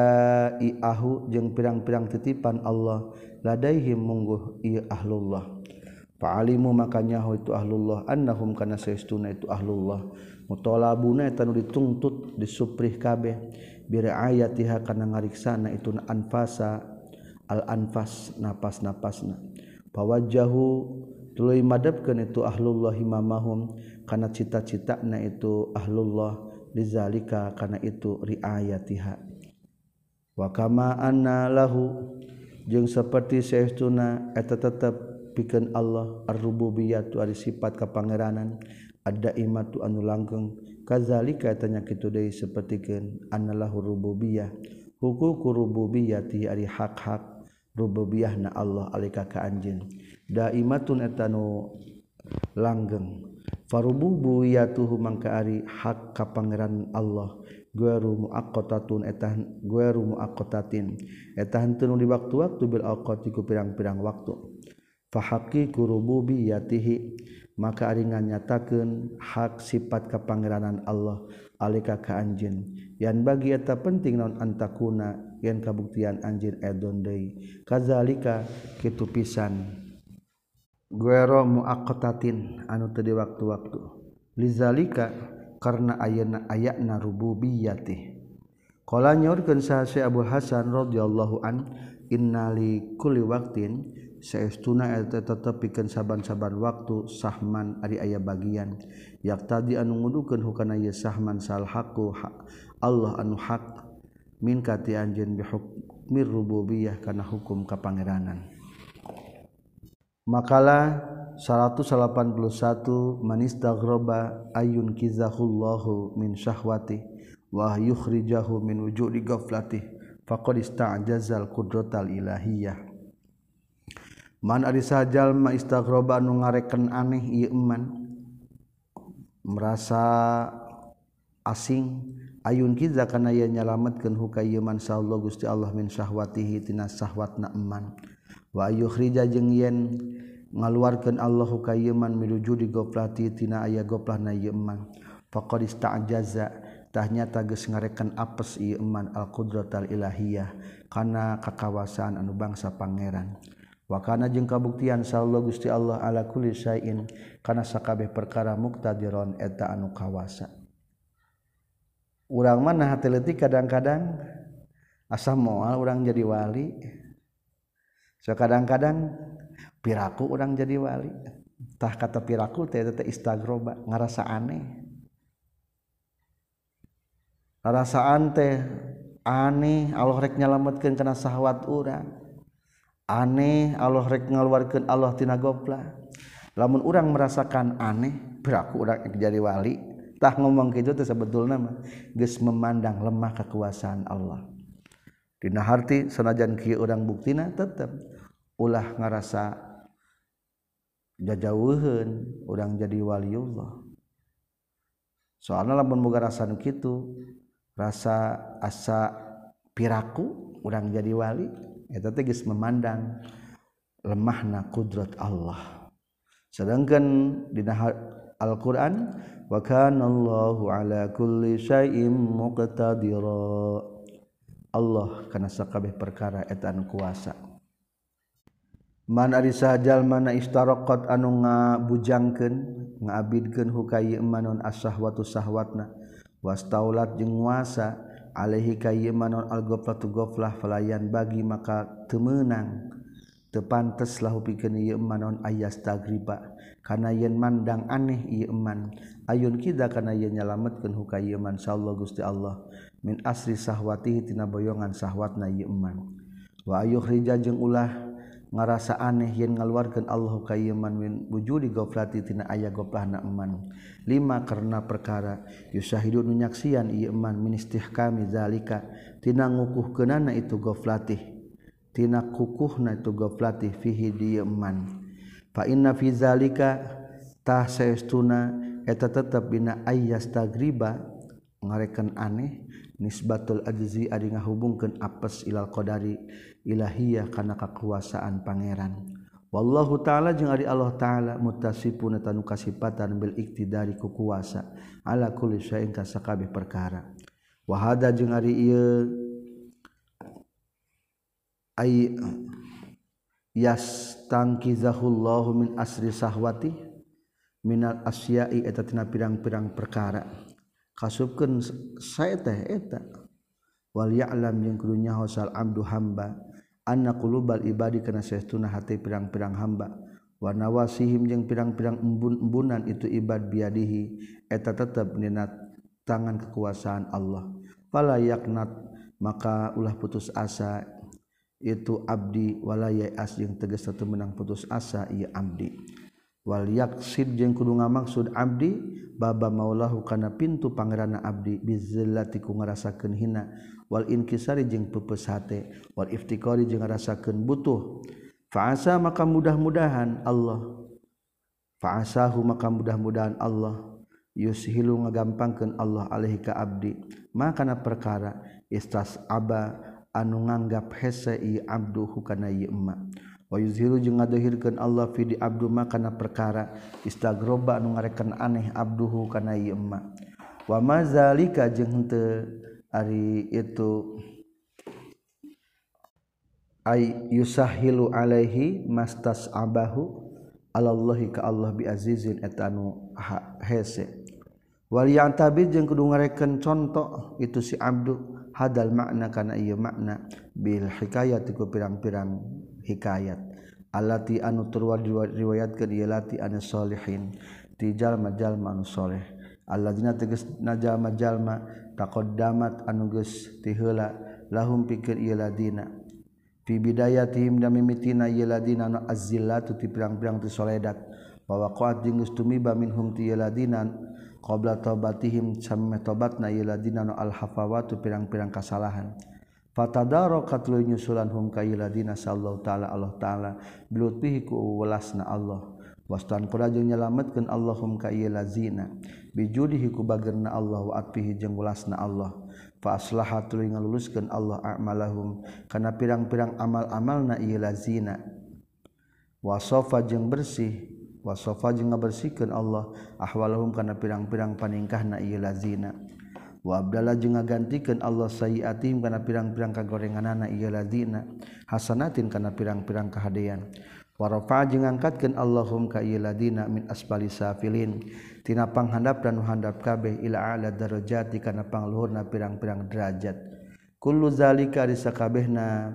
wadai'ahu jeung pirang-pirang titipan Allah ladaihim mungguh ieu ahlullah fa'alimu makanya itu ahlullah annahum kana saestuna itu ahlullah mutalabuna eta nu ditungtut disuprih kabeh birayatiha kana ngariksana itu anfasa al anfas napas-napasna pawajjahu tuluy madapkeun itu ahlullah himamahum kana cita-citana itu ahlullah lizalika kana itu riayatiha wa kama anna lahu jeung saperti saestuna eta tetep pikeun Allah ar-rububiyyah tu ari sifat kapangeranan ad-daimatu anu langgeng kadzalika eta nya kitu deui sapertikeun annalahu rububiyyah huququ rububiyyati ari hak-hak rububiyahna Allah alika ka anjeun daimatun eta nu langgeng farububiyyatuhu mangka ari hak kapangeran Allah gueru muaqqatatun eta gueru muaqqatatin eta henteu nu di waktu-waktu bil awqati ku pirang-pirang waktu fa haqiqu rububiyyatihi maka ari nganyatakeun hak sifat kapangeranan Allah alika ka anjeun yan bagi eta penting naon antakuna yen kabuktian anjeun edon deui kadzalika kitu pisan guero muaqqatatin anu teu di waktu-waktu lizalika karna ayatna rububiyyati qala nyaurkeun sa Syekh Abu Hasan radhiyallahu an innali kulli waqtin saestuna eta tetep pikeun saban-saban waktu sahman ari aya bagian yaqtadi anu ngudukeun hukana ieu sahman sal haqqu Allah anu haq min kati anjeun bi hukmir rububiyyah kana hukum kapangeranan Makalah 181 man istaghroba ayun kizahullahu min syahwati wa yukhrijahu min wujudi ghaflatih faqad ista'jazal qudratal ilahiyah. Man ari sajal ma istaghroba anu ngarekeun aneh ieu eman merasa asing ayun kiza kana ye nyalametkeun huka ieu man sallallahu Gusti Allah min syahwatihi tina syahwatna eman wa yukhrija jeung yen ngaluarkeun Allah huka ieu man miluju di goflati tina aya goflahna ieu eman faqad ista'jaza tah nyata geus ngarekeun apes ieu eman al qudratal ilahiyah kana kakawasaan anu bangsa pangeran wa kana jeung kabuktian sallallahu Gusti Allah ala kulli syai'in kana sakabeh perkara muqtadiron eta anu kawasa. Urang mah nah teu leutik kadang-kadang asa moal urang jadi wali. So kadang-kadang piraku urang jadi wali. Tah kata piraku teh eta istaghroba ngarasa aneh. Rasaan teh aneh Allah rek nyalametkeun kana sahwat urang. Aneh Allah rek ngaluarkeun Allah tina goflah. Lamun urang merasakan aneh, piraku urang jadi wali. Tah ngomong kitu teh sabetulna mah geus memandang lemah kekuasaan Allah. Dina harti sanajan kieu urang buktina tetep ulah ngarasa jajauheun urang jadi waliullah. Soalna lamun boga rasa nu kitu, rasa asa piraku urang jadi wali, eta teh geus memandang lemahna kudrat Allah. Sedangkan dina Al-Qur'an wa kana Allahu ala kulli syai'in muqtadira. Allah kana sakabeh perkara eta anu kuasa. Man ari sajal mana istaraqat anu ngabujangkeun ngabidkeun hukaya manon as-sahwatu sahwatna wastaulat jeung nguasa alaihi kayy manon al-ghaflatu ghaflah falayan bagi maka teu meunang teu pantes lahu pikeun ieu manon ayas tagriba kana yen mandang aneh ieu man ayun kida kana yen nyalametkeun hukaya man sallallahu Gusti Allah min asri sahwatihi tina boyongan sahwatna ieu man wa ayukhrija jeung ulah ngarasa aneh yen ngaluarkeun Allah ka ieu man min wujudi ghaflati tina aya goflahna eman lima karena perkara yusahidu nu nyaksian ieu man min istihkami zalika tina ngukuhkeunana itu ghaflatih tina kukuhna itu ghaflatih fihi di eman fa inna fi zalika tah saestuna eta tetep bina ayyas tagriba ngarekeun aneh nisbatul ajzi ari ngahubungkeun apes ilal qadari ilahiyah kana kakuasaan pangeran wallahu taala jeung ari Allah taala muttasifun tanu kasipatan bil iktidari ku kuasa ala kulli syai'in ka sakabeh perkara wa hada jeung ari ieu ay yastankizahullahu min asri sahwati minal asya'i eta tina pirang-pirang perkara kasupkeun sae teh eta wal ya'lam jeung kudu nyaho sal abdu hamba anna qulubal ibadi kana saestuna hati pirang-pirang hamba wa nawasihim jeung pirang-pirang embun-embunan itu ibad biadihi eta tetep dina tangan kekuasaan Allah fala yaqnat maka ulah putus asa itu abdi wala ya'as jeung tegas teu menang putus asa ieu abdi wal yaqsid jeung kudu ngamaksud abdi baba maulahu kana pintu pangeranna abdi bizillati ku ngarasakeun hina wal inkisari jeung peupeus hate wal iftikari jeung ngarasakeun butuh fa'asa maka mudah-mudahan Allah fa'asahu maka mudah-mudahan Allah yushilu ngagampangkeun Allah alaihi ka abdi makana perkara istasaba anu nganggap hese ieu abduhu kana ieu emma wa yuzhiru jeung ngadahirkeun Allah fi di abdu makana perkara istaghroba anu ngarekeun aneh abduhu kana ieu emma wa mazalika jeung henteu ari itu ay yusahilu alaihi mastasabahu alallahi ka Allah bi azizin eta anu hese wal yantabi jeung kudu ngarekeun conto itu si abdu hadal makna kana ieu makna bil hikayati ku pirang-pirang hikayat allati anu turwa riwayatkeun ieu lati anu sholihin ti jalma-jalma anu soleh alladzina tegasna jalma-jalma taqaddamat anu geus ti heula lahum pikeun ieu ladina fi bidayatihim da mimitina ieu ladina azzillatu ti pirang-pirang ti soledat wa waqa'at jeung geus tumiba minhum ti ieu ladina qabla taubatihim samemeh tobatna ieu ladina al-hafawatu pirang-pirang kasalahan fatadarakat lu nyusulan hum ka ieu ladina sallallahu taala Allah taala bilutfihi ku welasna Allah wastan qura jeung nyalametkeun Allahum ka ieu lazina bijudihi ku bagerna Allah wa atfihi jeung welasna Allah fa aslaha tuluy ngaluluskeun Allah a'malahum kana pirang-pirang amal-amalna ieu lazina wasofa jeung bersih wasofa jeung ngabersihkeun Allah ahwalahum kana pirang-pirang paningkahna ieu lazina wa abdalla jeung ngagantikeun Allah sayiatihim kana pirang-pirang kagorenganana ieu lazina hasanatin kana pirang-pirang kahadean wa rafa'a jeung ngangkatkeun Allahum ka ieu ladina min asfali safilin tina panghandap dan handap kabeh ila a'la darajati kana pangluhurna pirang-pirang derajat kullu zalika risakabehna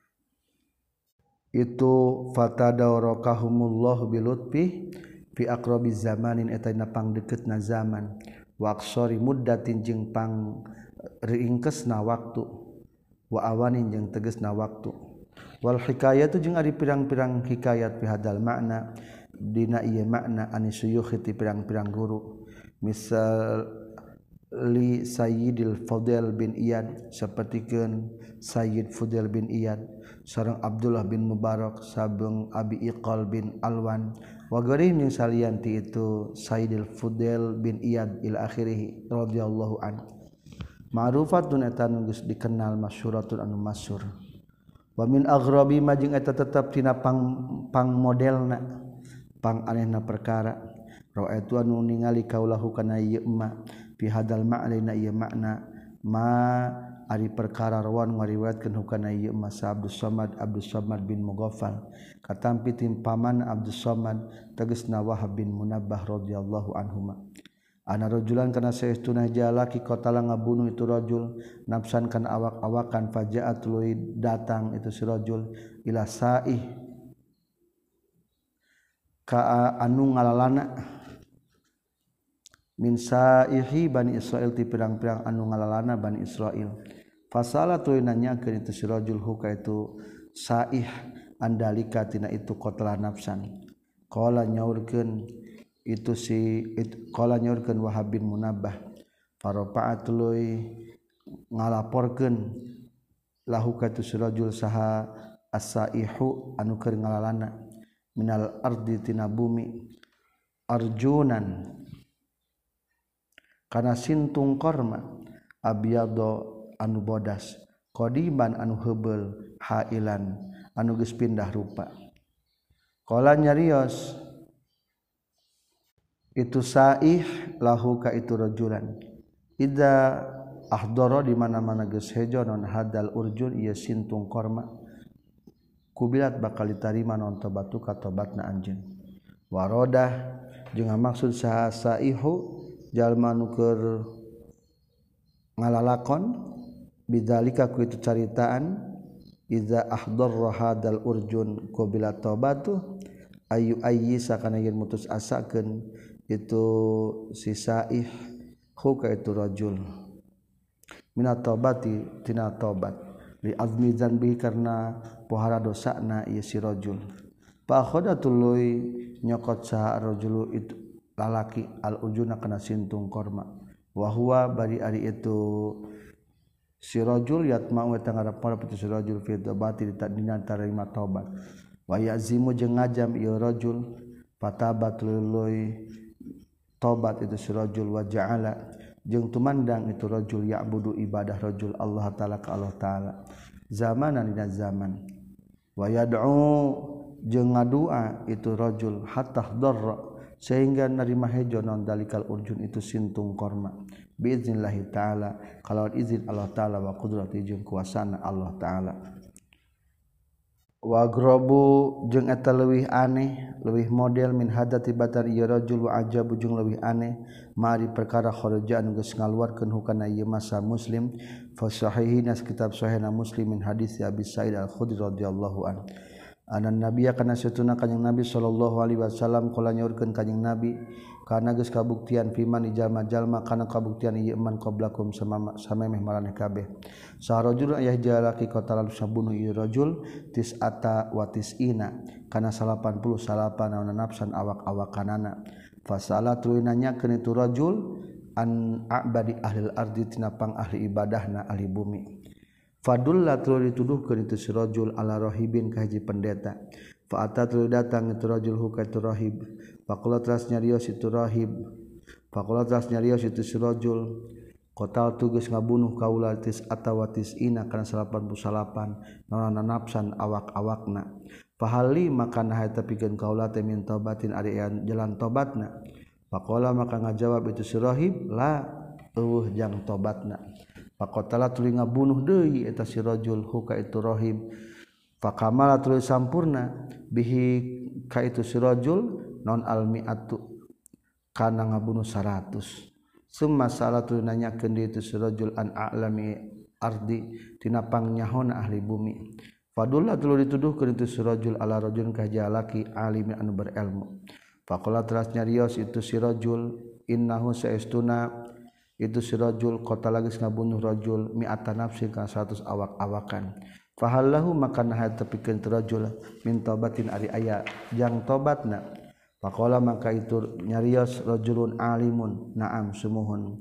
itu fatadarakahumullahu bilutfi fi aqrabiz zamanin eta dina pangdeukeutna zaman wa aqsari muddatin jeung pang ringkesna waktu wa awanin jeung tegasna waktu wal hikayatu jeung ari pirang-pirang hikayat fi hadal makna dina ieu makna anisuyukh ti pirang-pirang guru misal li Sayyidil Fudail bin Iyad sapertikeun Sayyid Fudail bin Iyad sareng Abdullah bin Mubarak sabeng Abi Iqal bin Alwan wa ghairihim yang salianti itu Sayyidil Fudail bin Iyad ila akhirih radhiyallahu an ma'rufatun eta nu geus dikenal masyhuratun anu masyhur wa min aghrabi ma jeung eta tetep tina pang modelna pang anehna perkara ra'aitu anu ningali kaulahu kana ieu ma fi hadal ma'lina ieu makna ma ari perkara rawan ngariwayatkeun hukana ieu ma Abdus Samad bin Mughaffal katampi timpaman Abdus Samad tegasna Wahab bin Munabbah radhiyallahu anhuma ana rajulan kana saestuna jalaki qatala ngabunuh itu rajul nafsan kana awak-awakan fajaat tuluy datang itu si rajul ila saih ka anu ngalalana min saihi Bani Israil ti pirang-pirang anu ngalalana Bani Israil fasala tuluy nanyakeun itu si rajul huka itu saih andalika tina itu qatala nafsan qala nyaurkeun itu si qala nyaurkeun Wahab bin Munabbah farafa'at tuluy ngalaporkeun lahu ka tu rajul saha as-saihu anu keur ngalalana minal ardi tina bumi arjunan kana sintung korma abyado anu bodas qadiban anu heubeul hailan anu geus pindah rupa qala nyarios itu saih lahu ka itu rajulan idza ahdara di mana-mana geus hejo non hadal urjun ieu sintung korma kubilat bakal ditarima non tobatu ka tobatna anjeun warodah jeung maksud saha saihu jalma nu keur ngalalakon bidzalika ku itu caritaan idza ahdara hadal urjun kubilat tobatu ayu ayyisa kana yen mutus asakeun itu si saih huka itu rajul minat taubati tina taubat li azmi dzanbi karena pohara dosana ieu si rajul fa khadatul nyokot sa rajul itu lalaki al ujuna kana sintung korma wa huwa bari ari itu si rajul yatma'u eta ngarep si rajul fi taubati dina tarima taubat wa yazimu jeung ngajam ieu rajul fatabat luluy tobat itu si rajul wa ja'ala jeung tumandang itu rajul ya'budu ibadah rajul Allah taala ka Allah taala zamanan dina zaman wa yad'u jeung ngadua itu rajul hatta darra sehingga narima hejo non dalikal urjun itu sintung korma biiznillah taala kalawan izin Allah taala wa qudrati jeung kuasana Allah taala wa grobu jeung eta leuwih aneh leuwih model min hadati batar ieu rajul wa ajabu jeung leuwih aneh mari perkara kharaja anu geus ngaluarkeun hukana ieu masa muslim fa sahihin kitab sahihna muslim min hadis Abi Sa'id Al-Khudri radhiyallahu an anan nabiya kana satuna kanjing nabi sallallahu alaihi wasallam qala nyaurkeun kanjing nabi kana geus kabuktian fiman jalma-jalma kana kabuktian ieu man qablakum samemeh maraneh kabeh sarajul aya jalaki qatalan sabunuh ieu rajul tis'ata wa tis'ina kana 80 salapan nafsan awak-awakanana fasala tuluy nanyakeun itu rajul an a'badi ahli ardi tina pang ahli ibadahna ahli bumi fadulla tuluy dituduhkeun itu si rajul ala rahibin ka hiji pendeta fa ata tuluy datang itu rajul ka itu rahib faqala teras nyarios itu rahib faqala teras nyarios itu si rajul qatal tugas ngabunuh kaula tis atawatis ina kana 88 naon nafsan awak-awakna fahali maka nah eta pikeun kaula teh min taubatin ari jalan tobatna faqala maka ngajawab itu si rahib la eueuh jang tobatna faqatala tuluy ngabunuh deui eta si rajul ka itu rahib fakamala tuluy sampurna bihi ka itu si rajul non almiatu kana ngabunuh 100 summa salatu nanyakeun di itu si rajul an a'lami ardi tina pangnyahoana ahli bumi fadulla tuluy dituduhkeun itu si rajul ala rajulin ka jalaki alim anu berilmu faqala teras nyarios itu si rajul innahu saestuna itu si rajul qatala geus ngabunuh rajul mi'ata nafsin ka 100 awak-awakan fahallahu maka nah tepikeun rajul min taubatin ari aya jang tobatna faqala maka itu nyarios rajulun alimun na'am sumuhun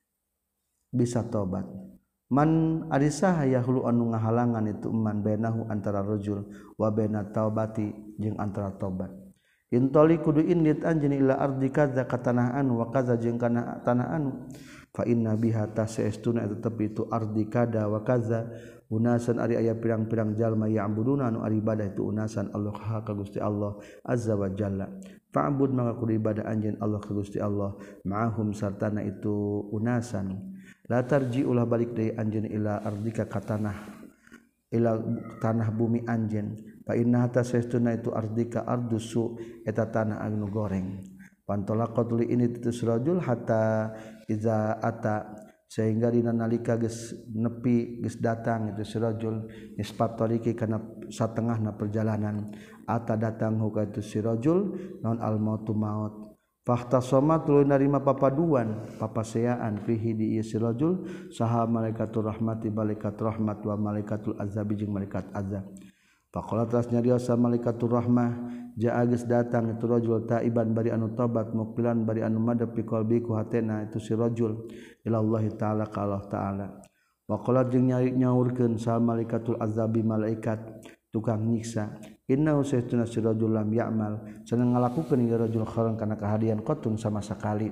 bisa tobat man ari saha yahulu anu ngahalangan itu man bainahu antara rajul wa baina taubati jeung antara tobat intoli kudu indit anjeun ila ardi kadza ka tanah anu wa kadza jeung kana tanah anu fa inna biha tasaestuna eta tepi itu ardi kada wa kadza unasan ari aya pirang-pirang jalma ya'buduna anu ari ibadah itu unasan Allah ka Gusti Allah azza wa jalla fa'bud maka kudu ibadah anjeun Allah ka Gusti Allah ma'ahum sartana itu unasan la tarji ulah balik deui anjeun ila ardika ka tanah ila tanah bumi anjeun fa inna tasaestuna itu ardika ardusu eta tanah anu goreng pantolaqatul ini itu surajul hatta iza ata sehingga dina nalika geus nepi geus datang itu si rajul nisbat tariqi kana satengahna perjalanan ata datang ka itu si rajul naon al mautu maut fahtasama tuluy narima papaduan papaseaan fihi di si rajul saha malaikatur rahmati malaikat rahmat wa malaikatul azabi jeung malaikat azab faqala tas nyarios malaikatur rahmah jaa geus datang itu rajul taiban bari anu tobat muqbilan bari anu madep fi qalbi ku hatena itu si rajul ila Allah taala ka Allah taala wa qala jeung nyaurkeun sa malaikatul azabi malaikat tukang nyiksa innahu saytuna si rajul lam ya'mal cenah ngalakukeun ieu rajul khairan kana kahadian qatun sama sakali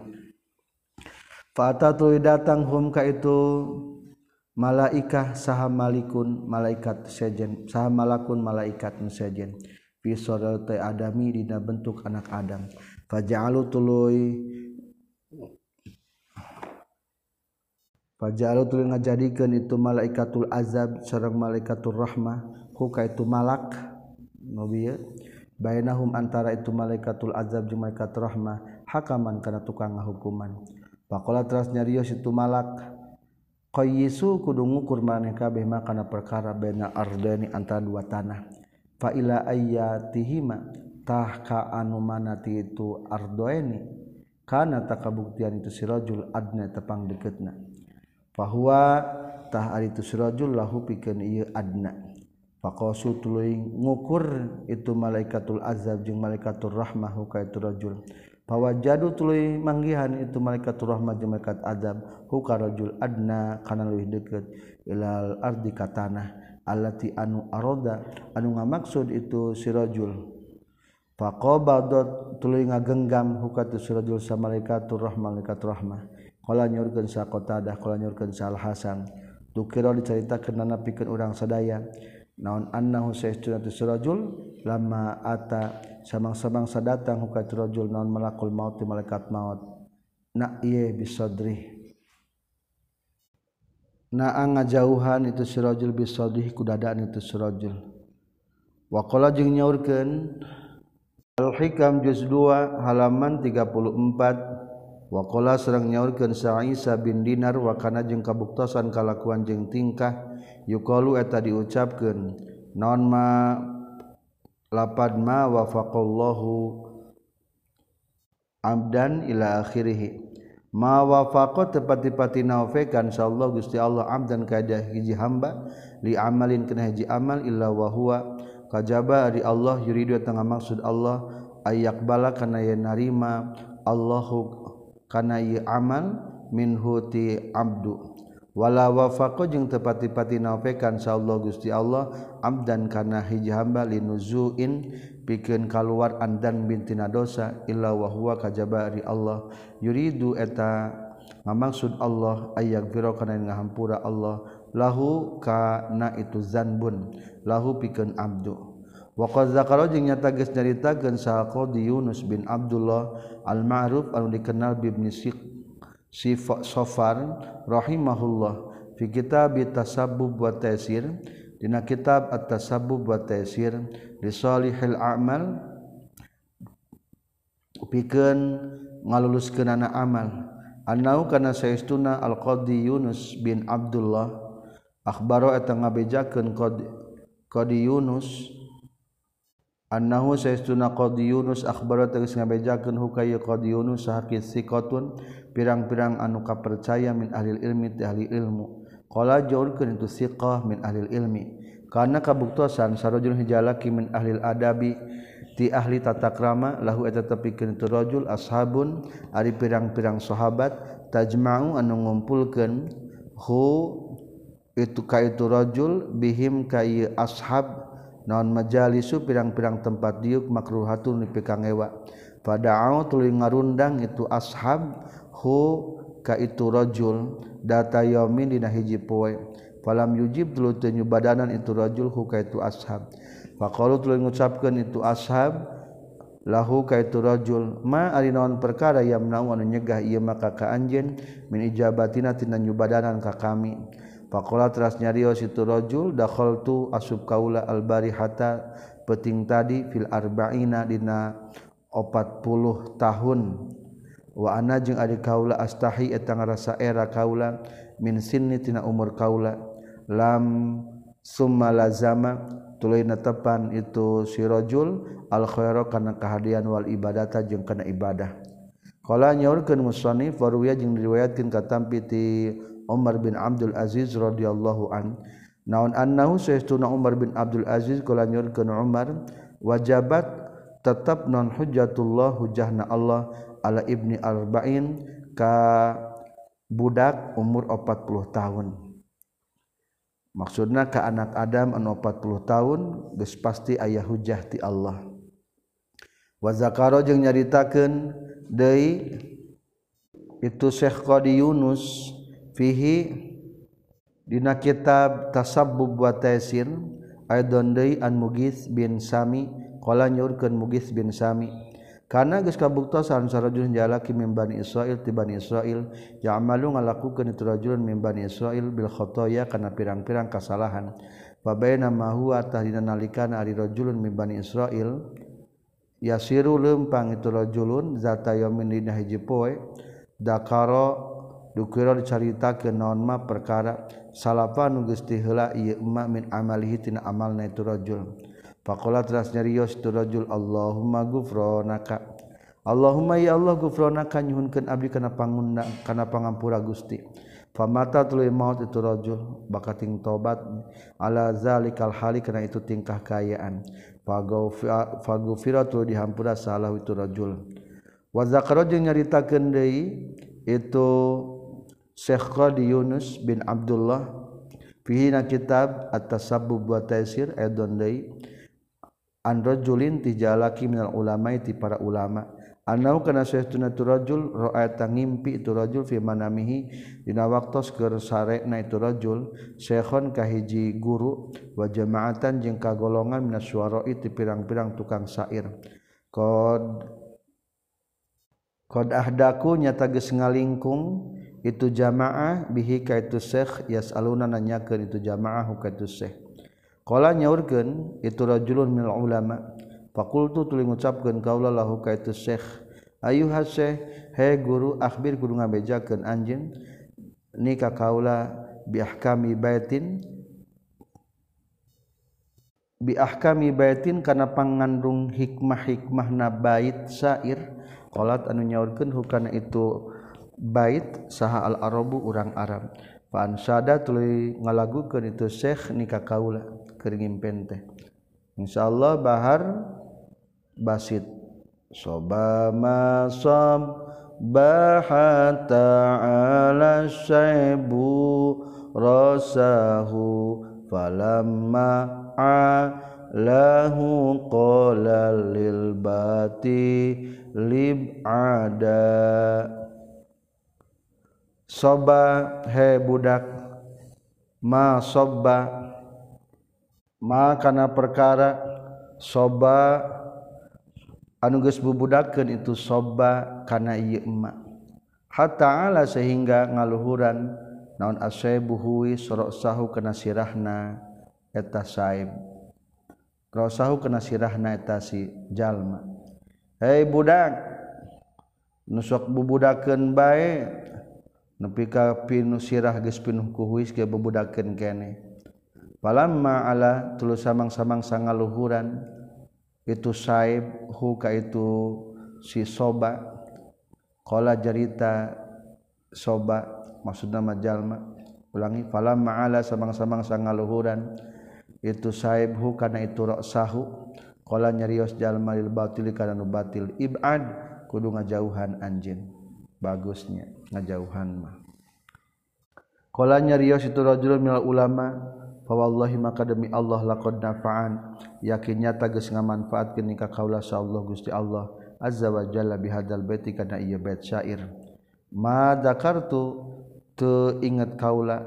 fa atatu datang hum ka itu malaikah saha malikun malaikat sejen saha malakun malaikat sejen fi surati adami dina bentuk anak Adam faja'alu tuluy ngajadikeun itu malaikatul azab sareng malaikatur rahmah ku ka itu malak nabi bainahum antara itu malaikatul azab jeung malaikatur rahmah hakaman kana tukang ngahukuman faqala teras nyarios itu malak qayyisu kudu ngukur maneh kabeh makana perkara baina ardani antara dua tanah fa ila ayatihima tah ka anu manati itu ardoeni kana takabuktian itu si rajul adna tepang deketna fa huwa tah ari itu si rajul lahu pikeun ieu adna faqasu tuluy ngukur itu malaikatul azab jeung malaikatur rahmah ka itu rajul fawajadu tuluy manggihan itu malaikatur rahmah jeung malaikat azab ka rajul adna kana leuwih deukeut ilal ardi ka tanah allati anu aroda anu ngamaksud itu si rajul faqabadat tuluy ngagenggam hukatu si rajul sa malaikatur rahmah qala nyorkeun sa Qatadah qala nyorkeun sa Al Hasan tukira dicaritakeun nana pikeun urang sadaya naon annahu saestuna si rajul lamma ata samang-samang sadatang hukatu rajul naon malakul maut malaikat maut na ieu bisadri naa ngajauhan itu si rajul bisadih ku dadaan itu si rajul wa qala jeung nyaurkeun Al-Hikam juz 2 halaman 34 wa qala sareng nyaurkeun sa Isa bin Dinar wa kana jeung kabuktosan kalakuan jeung tingkah yuqalu eta diucapkeun naon ma lapad ma wafaqallahu abdan ila akhirih ma wafaqa tepati-pati naufekan insyaallah Gusti Allah abdan kada hiji hamba li amalin kana hiji amal illa wa huwa kajaba ari Allah yuridu tengah maksud Allah ayak bala kana ye narima Allahu kana ye amal minhu ti abdu wala wafaqa jeung tepati-pati naufekan insyaallah Gusti Allah abdan kana hiji hamba linuzuin pikeun kaluar andan bintina dosa illa wa huwa kajaba ari Allah yuridu eta ngamaksud Allah ayaghfira kana ngahampura Allah lahu kana itu zanbun lahu pikeun abdu wa qad zakara jeung nyata geus nyaritakeun saha Qadi Yunus bin Abdullah al-Ma'ruf anu dikenal bi Ibnu Sofar rahimahullah fi kitab Tasabbub wa Taysir dina kitab At-Tasabbub wa Taysir li salihil a'mal pikeun ngaluluskeunana amal annau kana saestuna al-Qadi Yunus bin Abdullah akhbaro eta ngabejakeun Qadi Yunus annahu saestuna Qadi Yunus akhbaro tegas ngabejakeun hukaya Qadi Yunus sahaqis siqatun pirang-pirang anu kapercaya min ahli ilmi ti ahli ilmu qala jaurkeun itu siqah min ahli ilmi karena kabuktosan sarojul hijalaki min ahli adabi ti ahli tata krama lahu eta tepikeun itu rajul ashabun ari pirang-pirang sahabat tajma'u anu ngumpulkeun hu itu ka itu rajul bihim ka ieu ashab naon majalisu pirang-pirang tempat diuk makruhatun pikangewa pada'au tuluy ngarundang itu ashab hu ka itu rajul data yaumin dina hiji poe falam yujib tuluy teu nyubadanan itu rajul hu ka itu ashab faqalu tuluy ngucapkeun itu ashab lahu ka itu rajul ma ari naon perkara yamnau anu nyegah ieu maka ka anjeun min ijabatina tina nyubadanan ka kami faqala teras nyarios itu rajul dakhaltu asub kaula albarihata peuting tadi fil arba'ina dina 40 tahun wa ana jeung ari kaula astahi eta ngarasa era kaula min sinni tina umur kaula lam summa lazama tuluy netepan itu si rajul al khaira kana kahadian wal ibadata jeung kana ibadah qala nyaurkeun musannif waruya jeung diriwayatkeun katampi ti Umar bin Abdul Aziz radhiyallahu an naon annahu saestuna Umar bin Abdul Aziz qala nyaurkeun Umar wajabat tetap non hujjatullah hujjahna Allah ala ibni arba'in ka budak umur 40 tahun maksudna ka anak Adam anu 40 tahun geus pasti aya hujjah ti Allah wa zakara jeung nyaritakeun deui itu Syekh Qadi Yunus fihi dina kitab Tasabbub wa Taysir aidon deui an Mughits bin Sami qala nyurkeun Mughits bin Sami karena geus kabuktosan sarajul jalaki min Bani Israil ti Bani Israil ya'malu ngalakukeun itu rajulun min Bani Israil bil khotoya kana pirang-pirang kasalahan fa baina ma huwa tahdina nalikana ari rajulun min Bani Israil yasiru leumpang itu rajulun zata yaumin dina hiji poe dakara dukira dicaritakeun naon ma perkara salafa nu geus ti heula ieu emma min amalihi tina amalna itu rajul faqala teras nyarios itu rajul Allahumma ghufranaka Allahumma ya Allah ghufranaka nyuhunkeun abdi kana pangundang kana pangampura Gusti famata tuluy maut itu rajul bakating tobat ala zalikal hali kana itu tingkah kaayaan faghufira tuluy dihampura salah itu rajul wa zakara jeung nyaritakeun deui itu Syekh Qadi Yunus bin Abdullah fihi na kitab At-Tasabbub wa Taysir edon deui an rajulin tijalaki minal ulama ti para ulama anau kana saestuna tu rajul ra'ata ngimpi itu rajul fi manamihi dina waktos keur sarena itu rajul syekhon kahiji guru wa jamaatan jeung kagolongan minas syuara'i ti pirang-pirang tukang syair qad ahdaku nyata geus ngalingkung itu jamaah bihi ka itu syekh yasaluna nanyakeun itu jamaah ka itu syekh qala nyaurkeun itu rajulun minal ulama faqultu tuluy ngucapkeun kaula lahu ka itu syekh ayuha syekh he guru akhbir kudu ngabejakeun anjeun ni ka kaula bi ahkami bi ahkami baitin kana pangandung hikmah-hikmahna bait syair qalat anu nyaurkeun hukana itu bait saha al arabu urang Arab fa ansada tuluy ngalagukeun itu syekh nika kaula keur ngimpen teh insyaallah bahar basit sobama sob bahata ala syaibu rasahu falamma alahu qala lil bati lib ada soba he budak ma sobba ma kana perkara soba anu geus bubudakeun itu soba kana ieu emak hatta ala sehingga ngaluhuran naon asaibu huwi sorosahu kana sirahna eta saib rosahu kana sirahna eta si jalma hei budak nu sok bubudakeun bae nepi ka pinu sirah geus pinuh ku huis ge bubudakeun keneh falamma ala tuluy samang-samang sangaluhuran itu saib hu ka itu si soba qala jarita soba maksudna majalma ulangi falamma ala samang-samang sangaluhuran itu saib hu kana itu ra'sahu qala nyarios jalma lil batil kana nu batil ibad kudu ngajauhan anjeun bagusnya ngajauhan mah qala nyarios itu rajulun minal ulama fa wallahi maka demi Allah laqad nafa'an yakin nyata geus ngamanfaatkeun ka kaula Allah Gusti Allah azza wa jalla bihadzal baiti kana ieu bait syair ma dzakartu teu inget kaula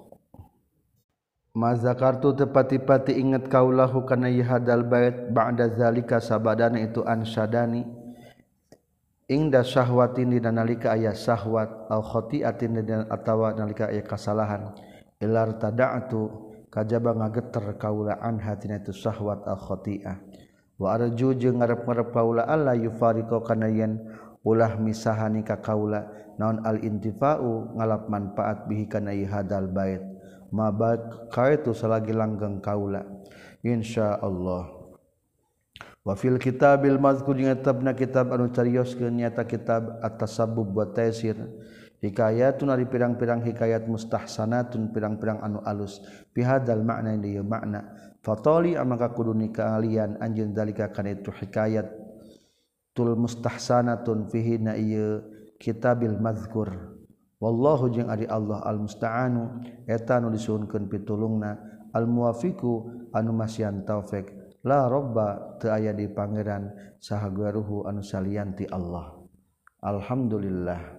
ma dzakartu teu pati-pati inget kaula kana ieu hadzal bait ba'da zalika sabadana itu ansyadani ingda syahwatin dina nalika aya syahwat au khati'atin dina atawa nalika aya kasalahan ilar tada'tu kajaba ngageter kaula anha tina itu syahwat al khati'ah wa arju jeung ngarep-ngarep kaula alla yufariqo kana yen ulah misahani ka kaula naon al intifa'u ngalap manfaat bihi kana hadal bait mabad kaitu salagi langgeng kaula insyaallah wa fil kitabil mazkur jeung tabna kitab anu carioskeun nyata kitab at-tasabbub wa taysir hikayatun ari pirang-pirang hikayat mustahsanatun pirang-pirang anu alus bihadzal makna ieu makna fatali amaka kudu nikalian anjeun dalika kana itu hikayat tul mustahsanatun fihi na ieu kitabil mazkur wallahu jeung ari Allah al musta'anu eta anu disuhunkeun pitulungna al muwafiqu anu masian taufik la robba teu aya di pangeran saha guruhu anu salianti Allah alhamdulillah.